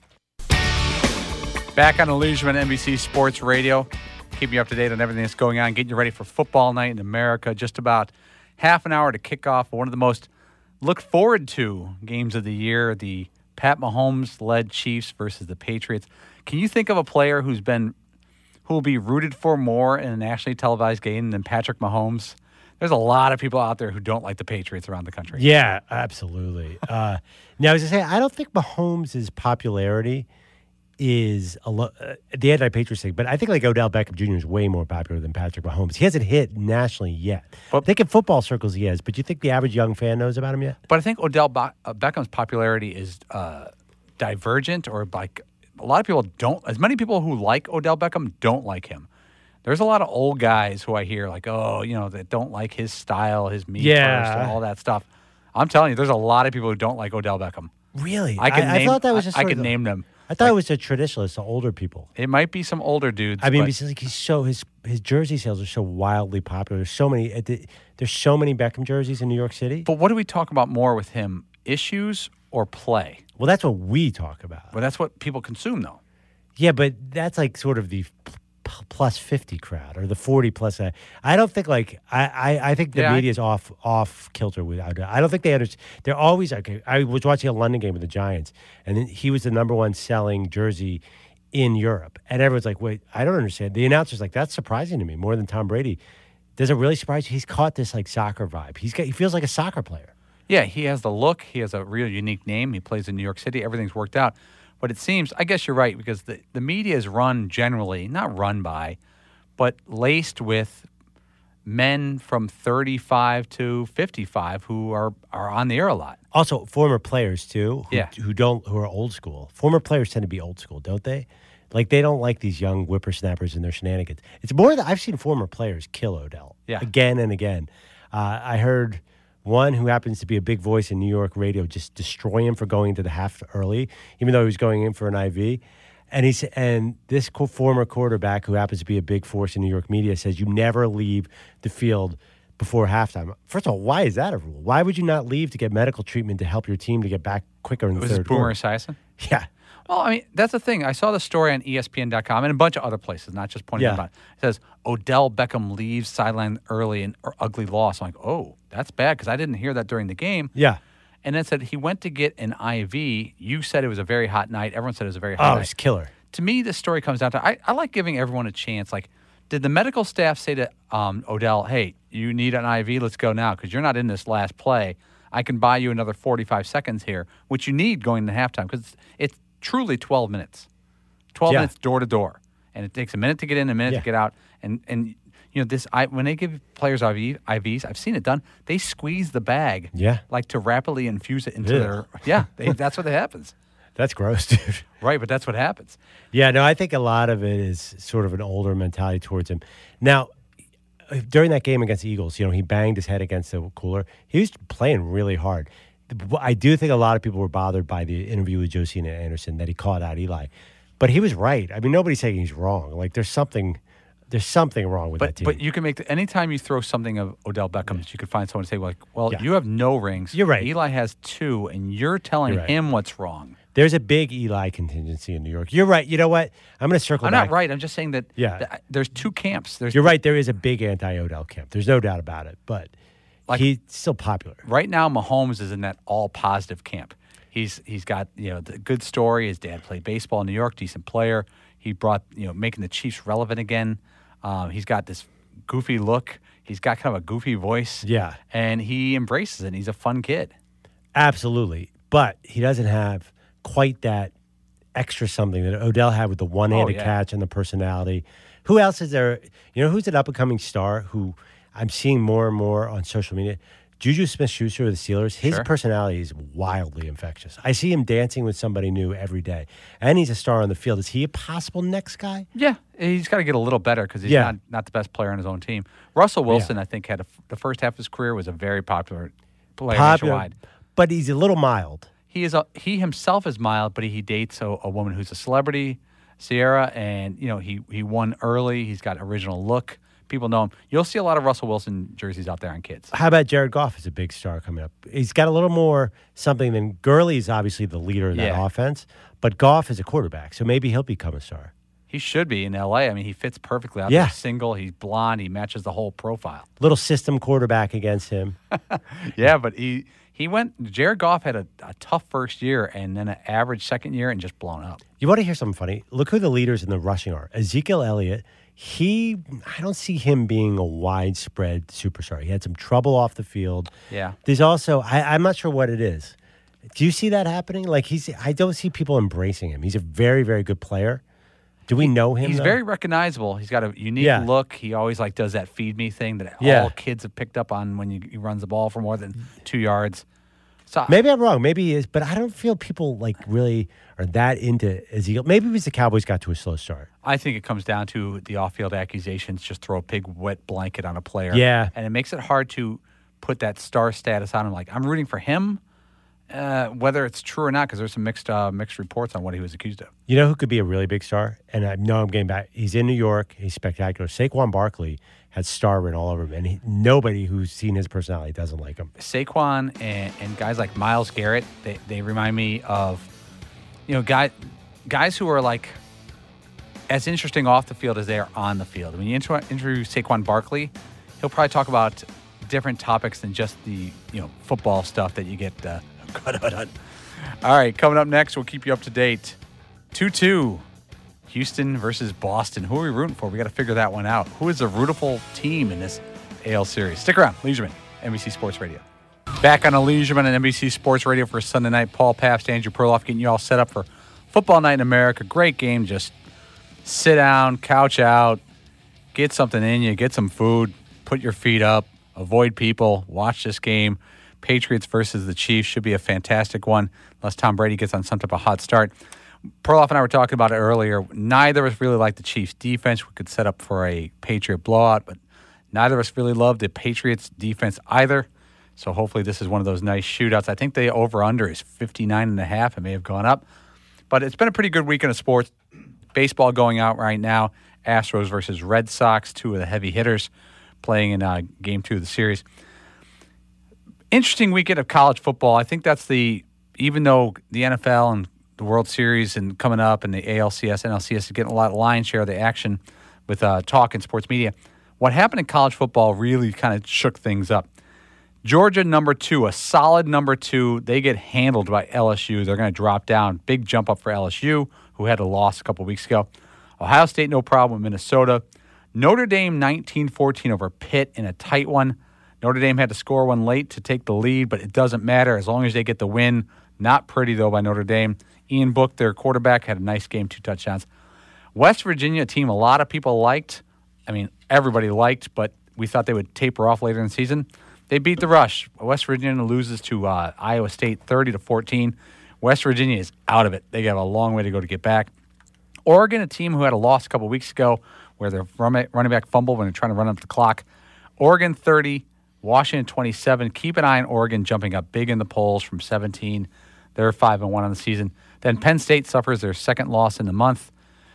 Back on the Leisureman, NBC Sports Radio. Keeping you up to date on everything that's going on, getting you ready for football night in America. Just about half an hour to kick off one of the most looked forward to games of the year, the Pat Mahomes-led Chiefs versus the Patriots. Can you think of a player who will be rooted for more in a nationally televised game than Patrick Mahomes? There's a lot of people out there who don't like the Patriots around the country. Yeah, absolutely. Now, I was going to say, I don't think Mahomes' popularity is the anti-Patriots thing, but I think like Odell Beckham Jr. is way more popular than Patrick Mahomes. He hasn't hit nationally yet. I think in football circles he has, but do you think the average young fan knows about him yet? But I think Odell Beckham's popularity is divergent, or like a lot of people don't. As many people who like Odell Beckham don't like him. There's a lot of old guys who I hear like, that don't like his style, his first, and all that stuff. I'm telling you, there's a lot of people who don't like Odell Beckham. Really? I thought that was just I could name them. I thought it was the traditionalists, the older people. It might be some older dudes. I mean, because like his jersey sales are so wildly popular. There's so many Beckham jerseys in New York City. But what do we talk about more with him? Issues or play? Well, that's what we talk about. Well, that's what people consume, though. Yeah, but that's like sort of the plus 50 crowd or the 40 plus. I don't think I think the media is off kilter with. I don't think they understand. They're always okay. I was watching a London game with the Giants, and then he was the number one selling jersey in Europe, and everyone's like, "Wait, I don't understand." The announcer's like, "That's surprising to me more than Tom Brady." Does it really surprise you? He's caught this like soccer vibe. He feels like a soccer player. Yeah, he has the look. He has a real unique name. He plays in New York City. Everything's worked out. But it seems, I guess you're right, because the media is run generally, not run by, but laced with men from 35 to 55 who are on the air a lot. Also, former players, too, who are old school. Former players tend to be old school, don't they? Like, they don't like these young whippersnappers and their shenanigans. It's more that I've seen former players kill Odell again and again. I heard one who happens to be a big voice in New York radio just destroy him for going into the half early, even though he was going in for an IV. And this former quarterback who happens to be a big force in New York media says you never leave the field before halftime. First of all, why is that a rule? Why would you not leave to get medical treatment to help your team to get back quicker in the third quarter? Was it Boomer Esiason? Yeah. Well, I mean, that's the thing. I saw the story on ESPN.com and a bunch of other places, not just pointing about it. It says, Odell Beckham leaves sideline early in ugly loss. I'm like, oh, that's bad, because I didn't hear that during the game. Yeah. And then it said he went to get an IV. You said it was a very hot night. Everyone said it was a very hot night. Oh, it's killer. To me, this story comes down to, I like giving everyone a chance. Like, did the medical staff say to Odell, hey, you need an IV? Let's go now, because you're not in this last play. I can buy you another 45 seconds here, which you need going into halftime, because it's truly 12 minutes. 12 minutes door to door. And it takes a minute to get in, a minute to get out. And you know, when they give players IVs, I've seen it done. They squeeze the bag, like to rapidly infuse it into their. That's what happens. That's gross, dude. Right, but that's what happens. Yeah, no, I think a lot of it is sort of an older mentality towards him. Now, during that game against the Eagles, you know, he banged his head against the cooler. He was playing really hard. I do think a lot of people were bothered by the interview with Josina Anderson that he called out Eli. But he was right. I mean, nobody's saying he's wrong. Like, there's something wrong with that team. But you can make anytime you throw something of Odell Beckham's, you could find someone to say, you have no rings. You're right. Eli has 2, and you're telling him what's wrong. There's a big Eli contingency in New York. You're right. You know what? I'm going to circle back. I'm not right. I'm just saying that there's 2 camps. You're right. There is a big anti-Odell camp. There's no doubt about it. But he's still popular. Right now, Mahomes is in that all-positive camp. He's got, the good story. His dad played baseball in New York, decent player. He brought, making the Chiefs relevant again. He's got this goofy look. He's got kind of a goofy voice. Yeah. And he embraces it. And he's a fun kid. Absolutely. But he doesn't have quite that extra something that Odell had with the one-handed catch and the personality. Who else is there? Who's an up-and-coming star who I'm seeing more and more on social media? Juju Smith-Schuster of the Steelers, his personality is wildly infectious. I see him dancing with somebody new every day, and he's a star on the field. Is he a possible next guy? Yeah, he's got to get a little better because he's not the best player on his own team. Russell Wilson, I think, had the first half of his career was a very popular player nationwide. But he's a little mild. He himself is mild, but he dates a woman who's a celebrity, Sierra, and he won early. He's got original look. People know him. You'll see a lot of Russell Wilson jerseys out there on kids. How about Jared Goff as a big star coming up? He's got a little more something than Gurley's obviously the leader in that offense, but Goff is a quarterback, so maybe he'll become a star. He should be in L.A. I mean, he fits perfectly out there. Single, he's blonde, he matches the whole profile. Little system quarterback against him. Yeah, but Jared Goff had a tough first year and then an average second year and just blown up. You want to hear something funny? Look who the leaders in the rushing are. Ezekiel Elliott. I don't see him being a widespread superstar. He had some trouble off the field. Yeah. There's also, I'm not sure what it is. Do you see that happening? Like I don't see people embracing him. He's a very, very good player. Do we know him? He's very recognizable. He's got a unique look. He always does that feed me thing that all kids have picked up on when he runs the ball for more than 2 yards. So maybe I'm wrong. Maybe he is, but I don't feel people really are that into Ezekiel. Maybe because the Cowboys got to a slow start. I think it comes down to the off-field accusations. Just throw a big wet blanket on a player. Yeah, and it makes it hard to put that star status on him. Like I'm rooting for him, whether it's true or not, because there's some mixed reports on what he was accused of. You know who could be a really big star? And I know I'm getting back. He's in New York. He's spectacular. Saquon Barkley has star written all over him, and nobody who's seen his personality doesn't like him. Saquon and guys like Myles Garrett, they remind me of, guys who are like as interesting off the field as they are on the field. When you interview Saquon Barkley, he'll probably talk about different topics than just the football stuff that you get caught on. All right, coming up next, we'll keep you up to date. 2-2. Houston versus Boston. Who are we rooting for? We got to figure that one out. Who is the rootable team in this AL series? Stick around. Leisureman, NBC Sports Radio. Back on a Leisureman and NBC Sports Radio for Sunday night. Paul Pabst, Andrew Perloff getting you all set up for Football Night in America. Great game. Just sit down, couch out, get something in you, get some food, put your feet up, avoid people, watch this game. Patriots versus the Chiefs should be a fantastic one unless Tom Brady gets on some type of hot start. Perloff and I were talking about it earlier. Neither of us really like the Chiefs' defense. We could set up for a Patriot blowout, but neither of us really love the Patriots' defense either. So hopefully this is one of those nice shootouts. I think the over-under is 59.5. It may have gone up. But it's been a pretty good weekend of sports. Baseball going out right now. Astros versus Red Sox, two of the heavy hitters playing in Game 2 of the series. Interesting weekend of college football. I think that's even though the NFL and the World Series and coming up and the ALCS, NLCS is getting a lot of lion's share of the action with talk and sports media. What happened in college football really kind of shook things up. Georgia, number 2, a solid number 2. They get handled by LSU. They're going to drop down. Big jump up for LSU, who had a loss a couple weeks ago. Ohio State, no problem with Minnesota. Notre Dame, 19-14 over Pitt in a tight one. Notre Dame had to score one late to take the lead, but it doesn't matter as long as they get the win. Not pretty, though, by Notre Dame. Ian Book, their quarterback, had a nice game, 2 touchdowns. West Virginia, a team a lot of people liked. I mean, everybody liked, but we thought they would taper off later in the season. They beat the Rush. West Virginia loses to Iowa State 30-14. West Virginia is out of it. They have a long way to go to get back. Oregon, a team who had a loss a couple weeks ago where their running back fumbled when they're trying to run up the clock. Oregon 30, Washington 27. Keep an eye on Oregon jumping up big in the polls from 17. They're 5-1 on the season. Then Penn State suffers their second loss in the month,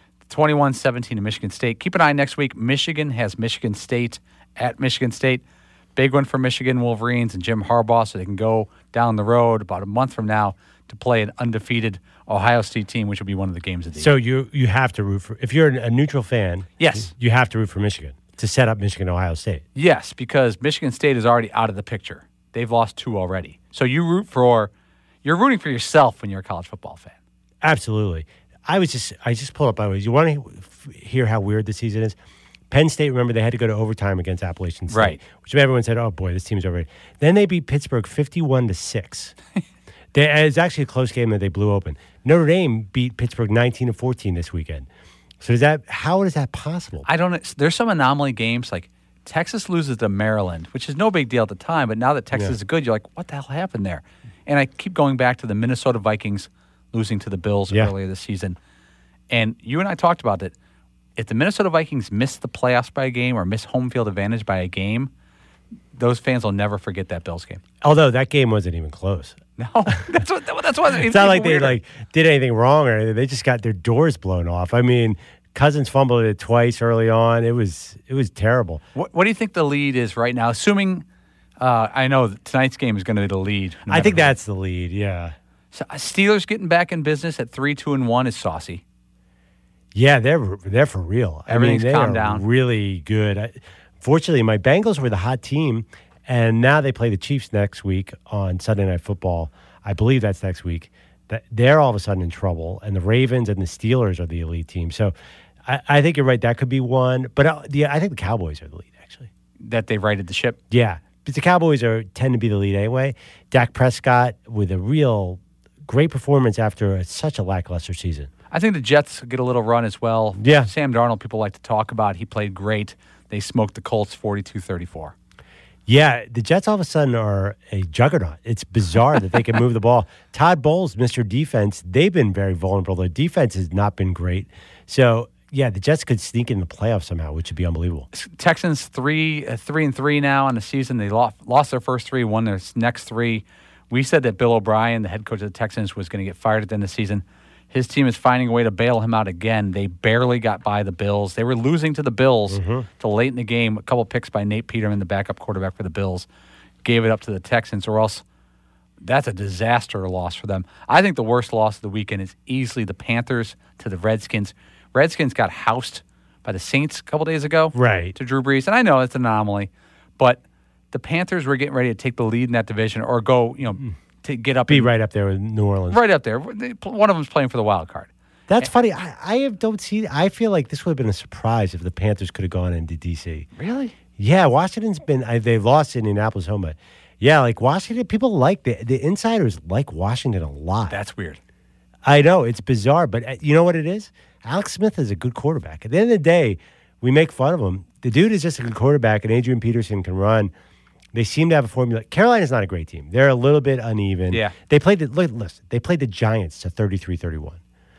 21-17 to Michigan State. Keep an eye next week. Michigan has Michigan State at Michigan State. Big one for Michigan Wolverines and Jim Harbaugh, so they can go down the road about a month from now to play an undefeated Ohio State team, which will be one of the games of the year. So you have to root for, if you're a neutral fan, yes, you have to root for Michigan to set up Michigan-Ohio State. Yes, because Michigan State is already out of the picture. They've lost 2 already. So you're rooting for yourself when you're a college football fan. Absolutely. I just pulled up, by the way. You want to hear how weird the season is? Penn State, remember, they had to go to overtime against Appalachian State. Right. Which everyone said, oh, boy, this team's over. Then they beat Pittsburgh 51-6. It's actually a close game that they blew open. Notre Dame beat Pittsburgh 19-14 this weekend. So how is that possible? I don't know. There's some anomaly games like Texas loses to Maryland, which is no big deal at the time, but now that Texas is good, you're like, what the hell happened there? And I keep going back to the Minnesota Vikings losing to the Bills earlier this season. And you and I talked about it. If the Minnesota Vikings miss the playoffs by a game or miss home field advantage by a game, those fans will never forget that Bills game. Although that game wasn't even close. No, that's what it's not like weirder. They did anything wrong or anything. They just got their doors blown off. I mean, Cousins fumbled it twice early on. It was terrible. What do you think the lead is right now? Assuming I know that tonight's game is going to be the lead. I think that's the lead. Yeah. So Steelers getting back in business at 3-2-1 is saucy. Yeah, they're for real. Everything's calmed down. Really good. Fortunately, my Bengals were the hot team, and now they play the Chiefs next week on Sunday Night Football. I believe that's next week. They're all of a sudden in trouble, and the Ravens and the Steelers are the elite team. So I think you're right. That could be one. But I think the Cowboys are the lead, actually. That they righted the ship? Yeah. But the Cowboys tend to be the lead anyway. Dak Prescott with a real great performance after such a lackluster season. I think the Jets get a little run as well. Yeah. Sam Darnold, people like to talk about. He played great. They smoked the Colts 42-34. Yeah, the Jets all of a sudden are a juggernaut. It's bizarre that they can move the ball. Todd Bowles, Mr. Defense, they've been very vulnerable. Their defense has not been great. So, yeah, the Jets could sneak in the playoffs somehow, which would be unbelievable. Texans 3-3 now on the season. They lost their first three, won their next three. We said that Bill O'Brien, the head coach of the Texans, was going to get fired at the end of the season. His team is finding a way to bail him out again. They barely got by the Bills. They were losing to the Bills till late in the game. A couple picks by Nate Peterman, the backup quarterback for the Bills, gave it up to the Texans, or else that's a disaster loss for them. I think the worst loss of the weekend is easily the Panthers to the Redskins. Redskins got housed by the Saints a couple days ago to Drew Brees. And I know it's an anomaly, but the Panthers were getting ready to take the lead in that division or go, to get up. Be right up there with New Orleans. Right up there. One of them's playing for the wild card. That's funny. I don't see. I feel like this would have been a surprise if the Panthers could have gone into D.C. Really? Yeah, Washington's been. They've lost Indianapolis home, but yeah, like Washington, people like the insiders like Washington a lot. That's weird. I know it's bizarre, but you know what it is? Alex Smith is a good quarterback. At the end of the day, we make fun of him. The dude is just a good quarterback, and Adrian Peterson can run. They seem to have a formula. Carolina's not a great team. They're a little bit uneven. Yeah. They played they played the Giants to 33-31.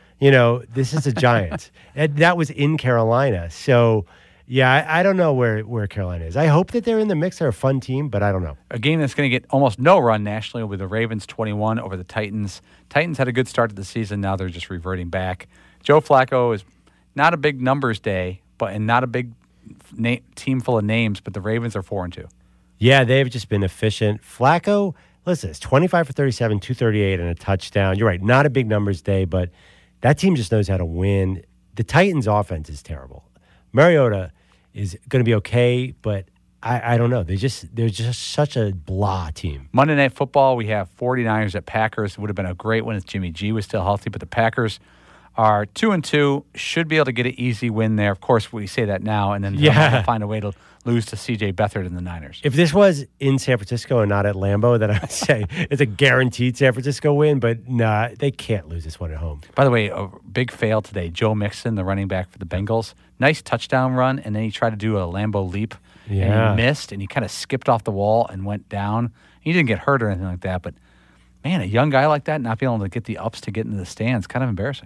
This is the Giants. That was in Carolina. So, yeah, I don't know where Carolina is. I hope that they're in the mix. They're a fun team, but I don't know. A game that's going to get almost no run nationally with the Ravens 21 over the Titans. Titans had a good start to the season. Now they're just reverting back. Joe Flacco is not a big numbers day, and not a big team full of names, but the Ravens are 4-2. Yeah, they've just been efficient. Flacco, listen, it's 25 for 37, 238, and a touchdown. You're right, not a big numbers day, but that team just knows how to win. The Titans' offense is terrible. Mariota is going to be okay, but I don't know. They're just such a blah team. Monday Night Football, we have 49ers at Packers. It would have been a great one if Jimmy G was still healthy, but the Packers are 2-2, should be able to get an easy win there. Of course, we say that now, and then they'll find a way to lose to C.J. Beathard and the Niners. If this was in San Francisco and not at Lambeau, then I would say it's a guaranteed San Francisco win, but nah, they can't lose this one at home. By the way, a big fail today. Joe Mixon, the running back for the Bengals, nice touchdown run, and then he tried to do a Lambeau leap, and he missed, and he kind of skipped off the wall and went down. He didn't get hurt or anything like that, but man, a young guy like that not being able to get the ups to get into the stands, kind of embarrassing.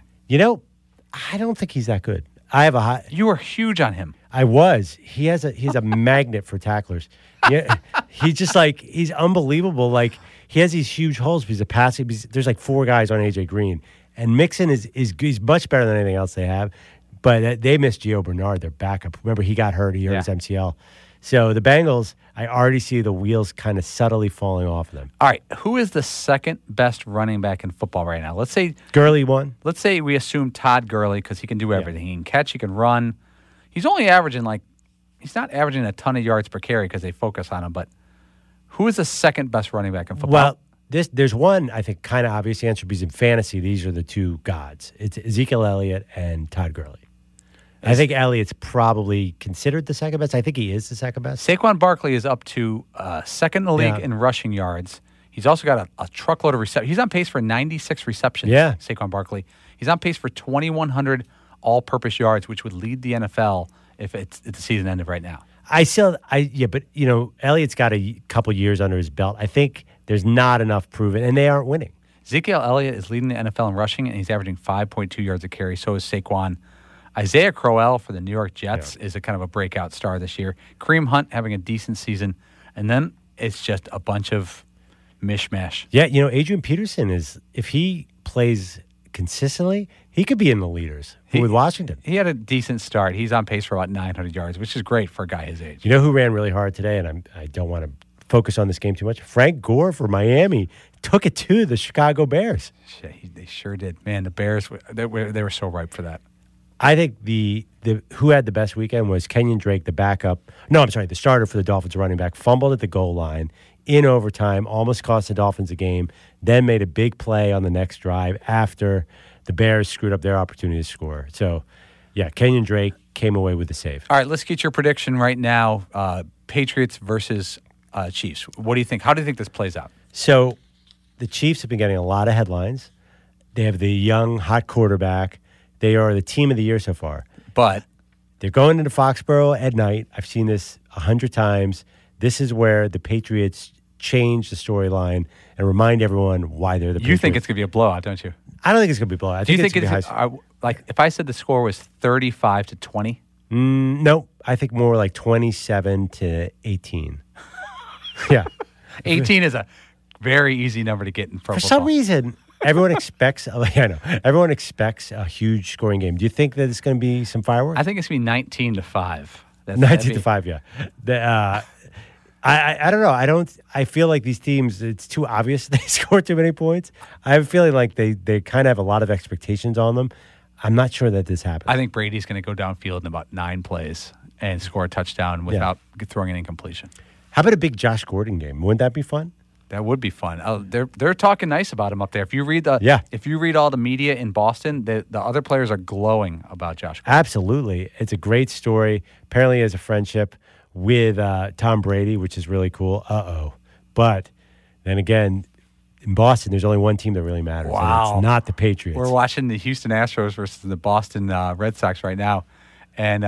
I don't think he's that good. You were huge on him. I was. He's a magnet for tacklers. Yeah, he's unbelievable. Like he has these huge holes. He's a passing. There's like four guys on AJ Green, and Mixon is much better than anything else they have. But they missed Gio Bernard, their backup. Remember, he got hurt. He hurt his MCL. So the Bengals, I already see the wheels kind of subtly falling off of them. All right, who is the second best running back in football right now? Let's say Gurley won. Let's say we assume Todd Gurley because he can do everything. He can catch, he can run. He's only averaging he's not averaging a ton of yards per carry because they focus on him. But who is the second best running back in football? Well, there's one I think kind of obvious answer because in fantasy these are the two gods. It's Ezekiel Elliott and Todd Gurley. I think Elliott's probably considered the second best. I think he is the second best. Saquon Barkley is up to second in the league in rushing yards. He's also got a truckload of receptions. He's on pace for 96 receptions, Saquon Barkley. He's on pace for 2,100 all-purpose yards, which would lead the NFL if the season ended right now. But Elliott's got a couple years under his belt. I think there's not enough proven, and they aren't winning. Ezekiel Elliott is leading the NFL in rushing, and he's averaging 5.2 yards a carry. So is Saquon. Isaiah Crowell for the New York Jets is a kind of a breakout star this year. Kareem Hunt having a decent season, and then it's just a bunch of mishmash. Yeah, Adrian Peterson if he plays consistently, he could be in the leaders with Washington. He had a decent start. He's on pace for about 900 yards, which is great for a guy his age. You know who ran really hard today, and I don't want to focus on this game too much? Frank Gore for Miami took it to the Chicago Bears. They sure did. Man, the Bears, they were so ripe for that. I think the who had the best weekend was Kenyon Drake, the backup. No, I'm sorry, the starter for the Dolphins running back, fumbled at the goal line in overtime, almost cost the Dolphins a game, then made a big play on the next drive after the Bears screwed up their opportunity to score. So, yeah, Kenyon Drake came away with the save. All right, let's get your prediction right now. Patriots versus Chiefs. What do you think? How do you think this plays out? So, the Chiefs have been getting a lot of headlines. They have the young, hot quarterback. They are the team of the year so far. But they're going into Foxborough at night. I've seen this 100 times. This is where the Patriots change the storyline and remind everyone why they're the Patriots. You think it's going to be a blowout, don't you? I don't think it's going to be a blowout. Do you think it's like if I said the score was 35-20? No, I think more like 27-18. Yeah. 18 is a very easy number to get in pro For football. some reason, everyone expects everyone expects a huge scoring game. Do you think that it's going to be some fireworks? I think it's going to be 19-5. 19-5, yeah. I don't know. I feel like these teams, it's too obvious they score too many points. I have a feeling like they kind of have a lot of expectations on them. I'm not sure that this happens. I think Brady's going to go downfield in about 9 plays and score a touchdown without throwing an incompletion. How about a big Josh Gordon game? Wouldn't that be fun? That would be fun. They're talking nice about him up there. If you read all the media in Boston, the other players are glowing about Josh Gordon. Absolutely. It's a great story. Apparently he has a friendship with Tom Brady, which is really cool. But then again, in Boston, there's only one team that really matters. Wow. And it's not the Patriots. We're watching the Houston Astros versus the Boston Red Sox right now. And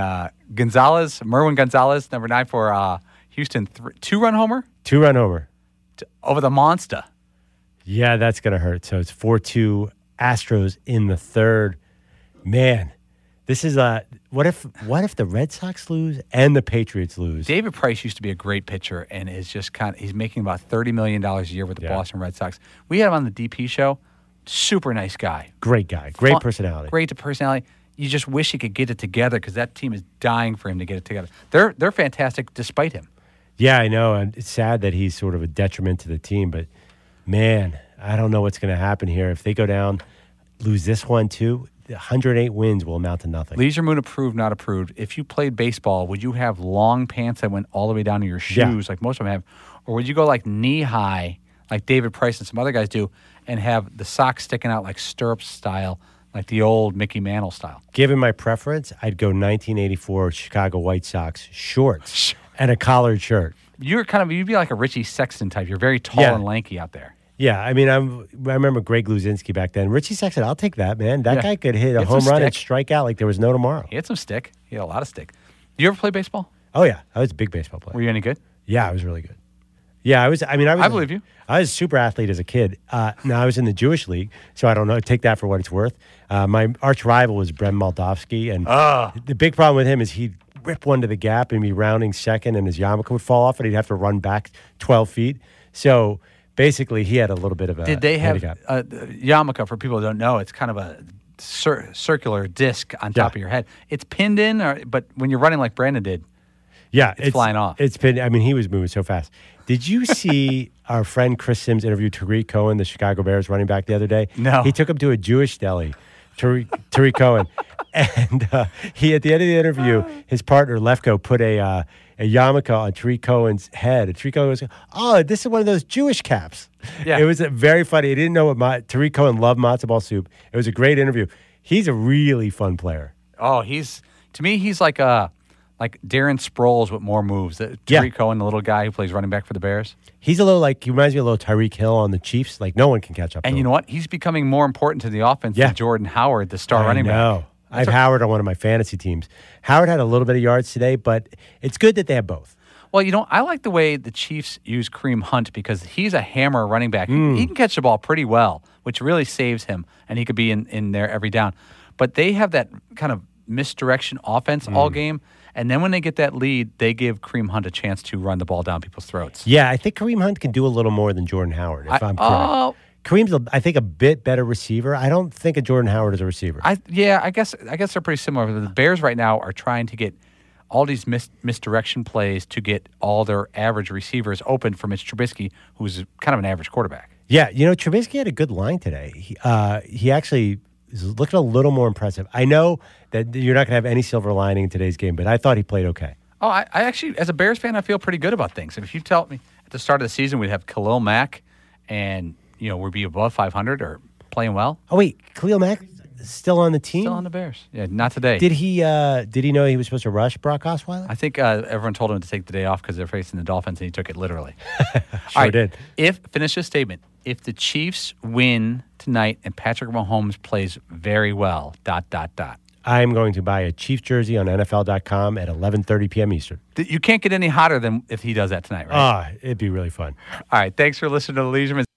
Merwin Gonzalez, number 9 for Houston, 2-run homer? 2-run homer. Over the monster. Yeah, that's going to hurt. So it's 4-2 Astros in the third. Man, this is what if the Red Sox lose and the Patriots lose? David Price used to be a great pitcher and is just he's making about $30 million a year with the Boston Red Sox. We had him on the DP show. Super nice guy. Great guy. Great personality. Great personality. You just wish he could get it together because that team is dying for him to get it together. They're fantastic despite him. Yeah, I know. And it's sad that he's sort of a detriment to the team. But, man, I don't know what's going to happen here. If they go down, lose this one too, 108 wins will amount to nothing. Leisure Moon approved, not approved. If you played baseball, would you have long pants that went all the way down to your shoes like most of them have? Or would you go like knee-high like David Price and some other guys do and have the socks sticking out like stirrups style, like the old Mickey Mantle style? Given my preference, I'd go 1984 Chicago White Sox shorts and a collared shirt. You'd be like a Richie Sexton type. You're very tall and lanky out there. Yeah, I mean, I remember Greg Luzinski back then. Richie Sexton, I'll take that, man. That guy could hit a home run and strike out like there was no tomorrow. He had some stick. He had a lot of stick. Did you ever play baseball? Oh, yeah. I was a big baseball player. Were you any good? Yeah, I was really good. Yeah, I was. I believe you. I was a super athlete as a kid. Now, I was in the Jewish League, so I don't know. Take that for what it's worth. My arch rival was Brem Moldovsky, and the big problem with him is he'd rip one to the gap and be rounding second, and his yarmulke would fall off, and he'd have to run back 12 feet. So basically, he had a little bit of a Did they have handicap. yarmulke, for people who don't know, it's kind of a circular disc on top of your head. It's pinned in, but when you're running like Brandon did, it's flying off. It's pinned. I mean, he was moving so fast. Did you see our friend Chris Sims interview Tariq Cohen, the Chicago Bears running back, the other day? No. He took him to a Jewish deli, Tariq Cohen. And he, at the end of the interview, his partner, Lefko, put a yarmulke on Tariq Cohen's head. And Tariq Cohen was, this is one of those Jewish caps. Yeah. It was very funny. He didn't know what Tariq Cohen loved matzo ball soup. It was a great interview. He's a really fun player. Oh, he's like Darren Sproles with more moves. Tariq Cohen, the little guy who plays running back for the Bears. He reminds me of a little Tyreek Hill on the Chiefs. Like, no one can catch up to him. And you know what? He's becoming more important to the offense than Jordan Howard, the star running back. I have Howard on one of my fantasy teams. Howard had a little bit of yards today, but it's good that they have both. Well, I like the way the Chiefs use Kareem Hunt because he's a hammer running back. He can catch the ball pretty well, which really saves him, and he could be in there every down. But they have that kind of misdirection offense all game, and then when they get that lead, they give Kareem Hunt a chance to run the ball down people's throats. Yeah, I think Kareem Hunt can do a little more than Jordan Howard, if I'm correct. Kareem's, I think, a bit better receiver. I don't think of Jordan Howard as a receiver. I guess they're pretty similar. The Bears right now are trying to get all these misdirection plays to get all their average receivers open for Mitch Trubisky, who's kind of an average quarterback. Yeah, Trubisky had a good line today. He actually is looking a little more impressive. I know that you're not going to have any silver lining in today's game, but I thought he played okay. Oh, I actually, as a Bears fan, I feel pretty good about things. If you tell me at the start of the season we'd have Khalil Mack and, we'd be above 500 or playing well. Oh, wait, Khalil Mack still on the team? Still on the Bears. Yeah, not today. Did he know he was supposed to rush Brock Osweiler? I think everyone told him to take the day off because they're facing the Dolphins, and he took it literally. Sure did. Finish this statement. If the Chiefs win tonight and Patrick Mahomes plays very well, ... I'm going to buy a Chiefs jersey on NFL.com at 11:30 p.m. Eastern. You can't get any hotter than if he does that tonight, right? It'd be really fun. All right. Thanks for listening to the Leisureman.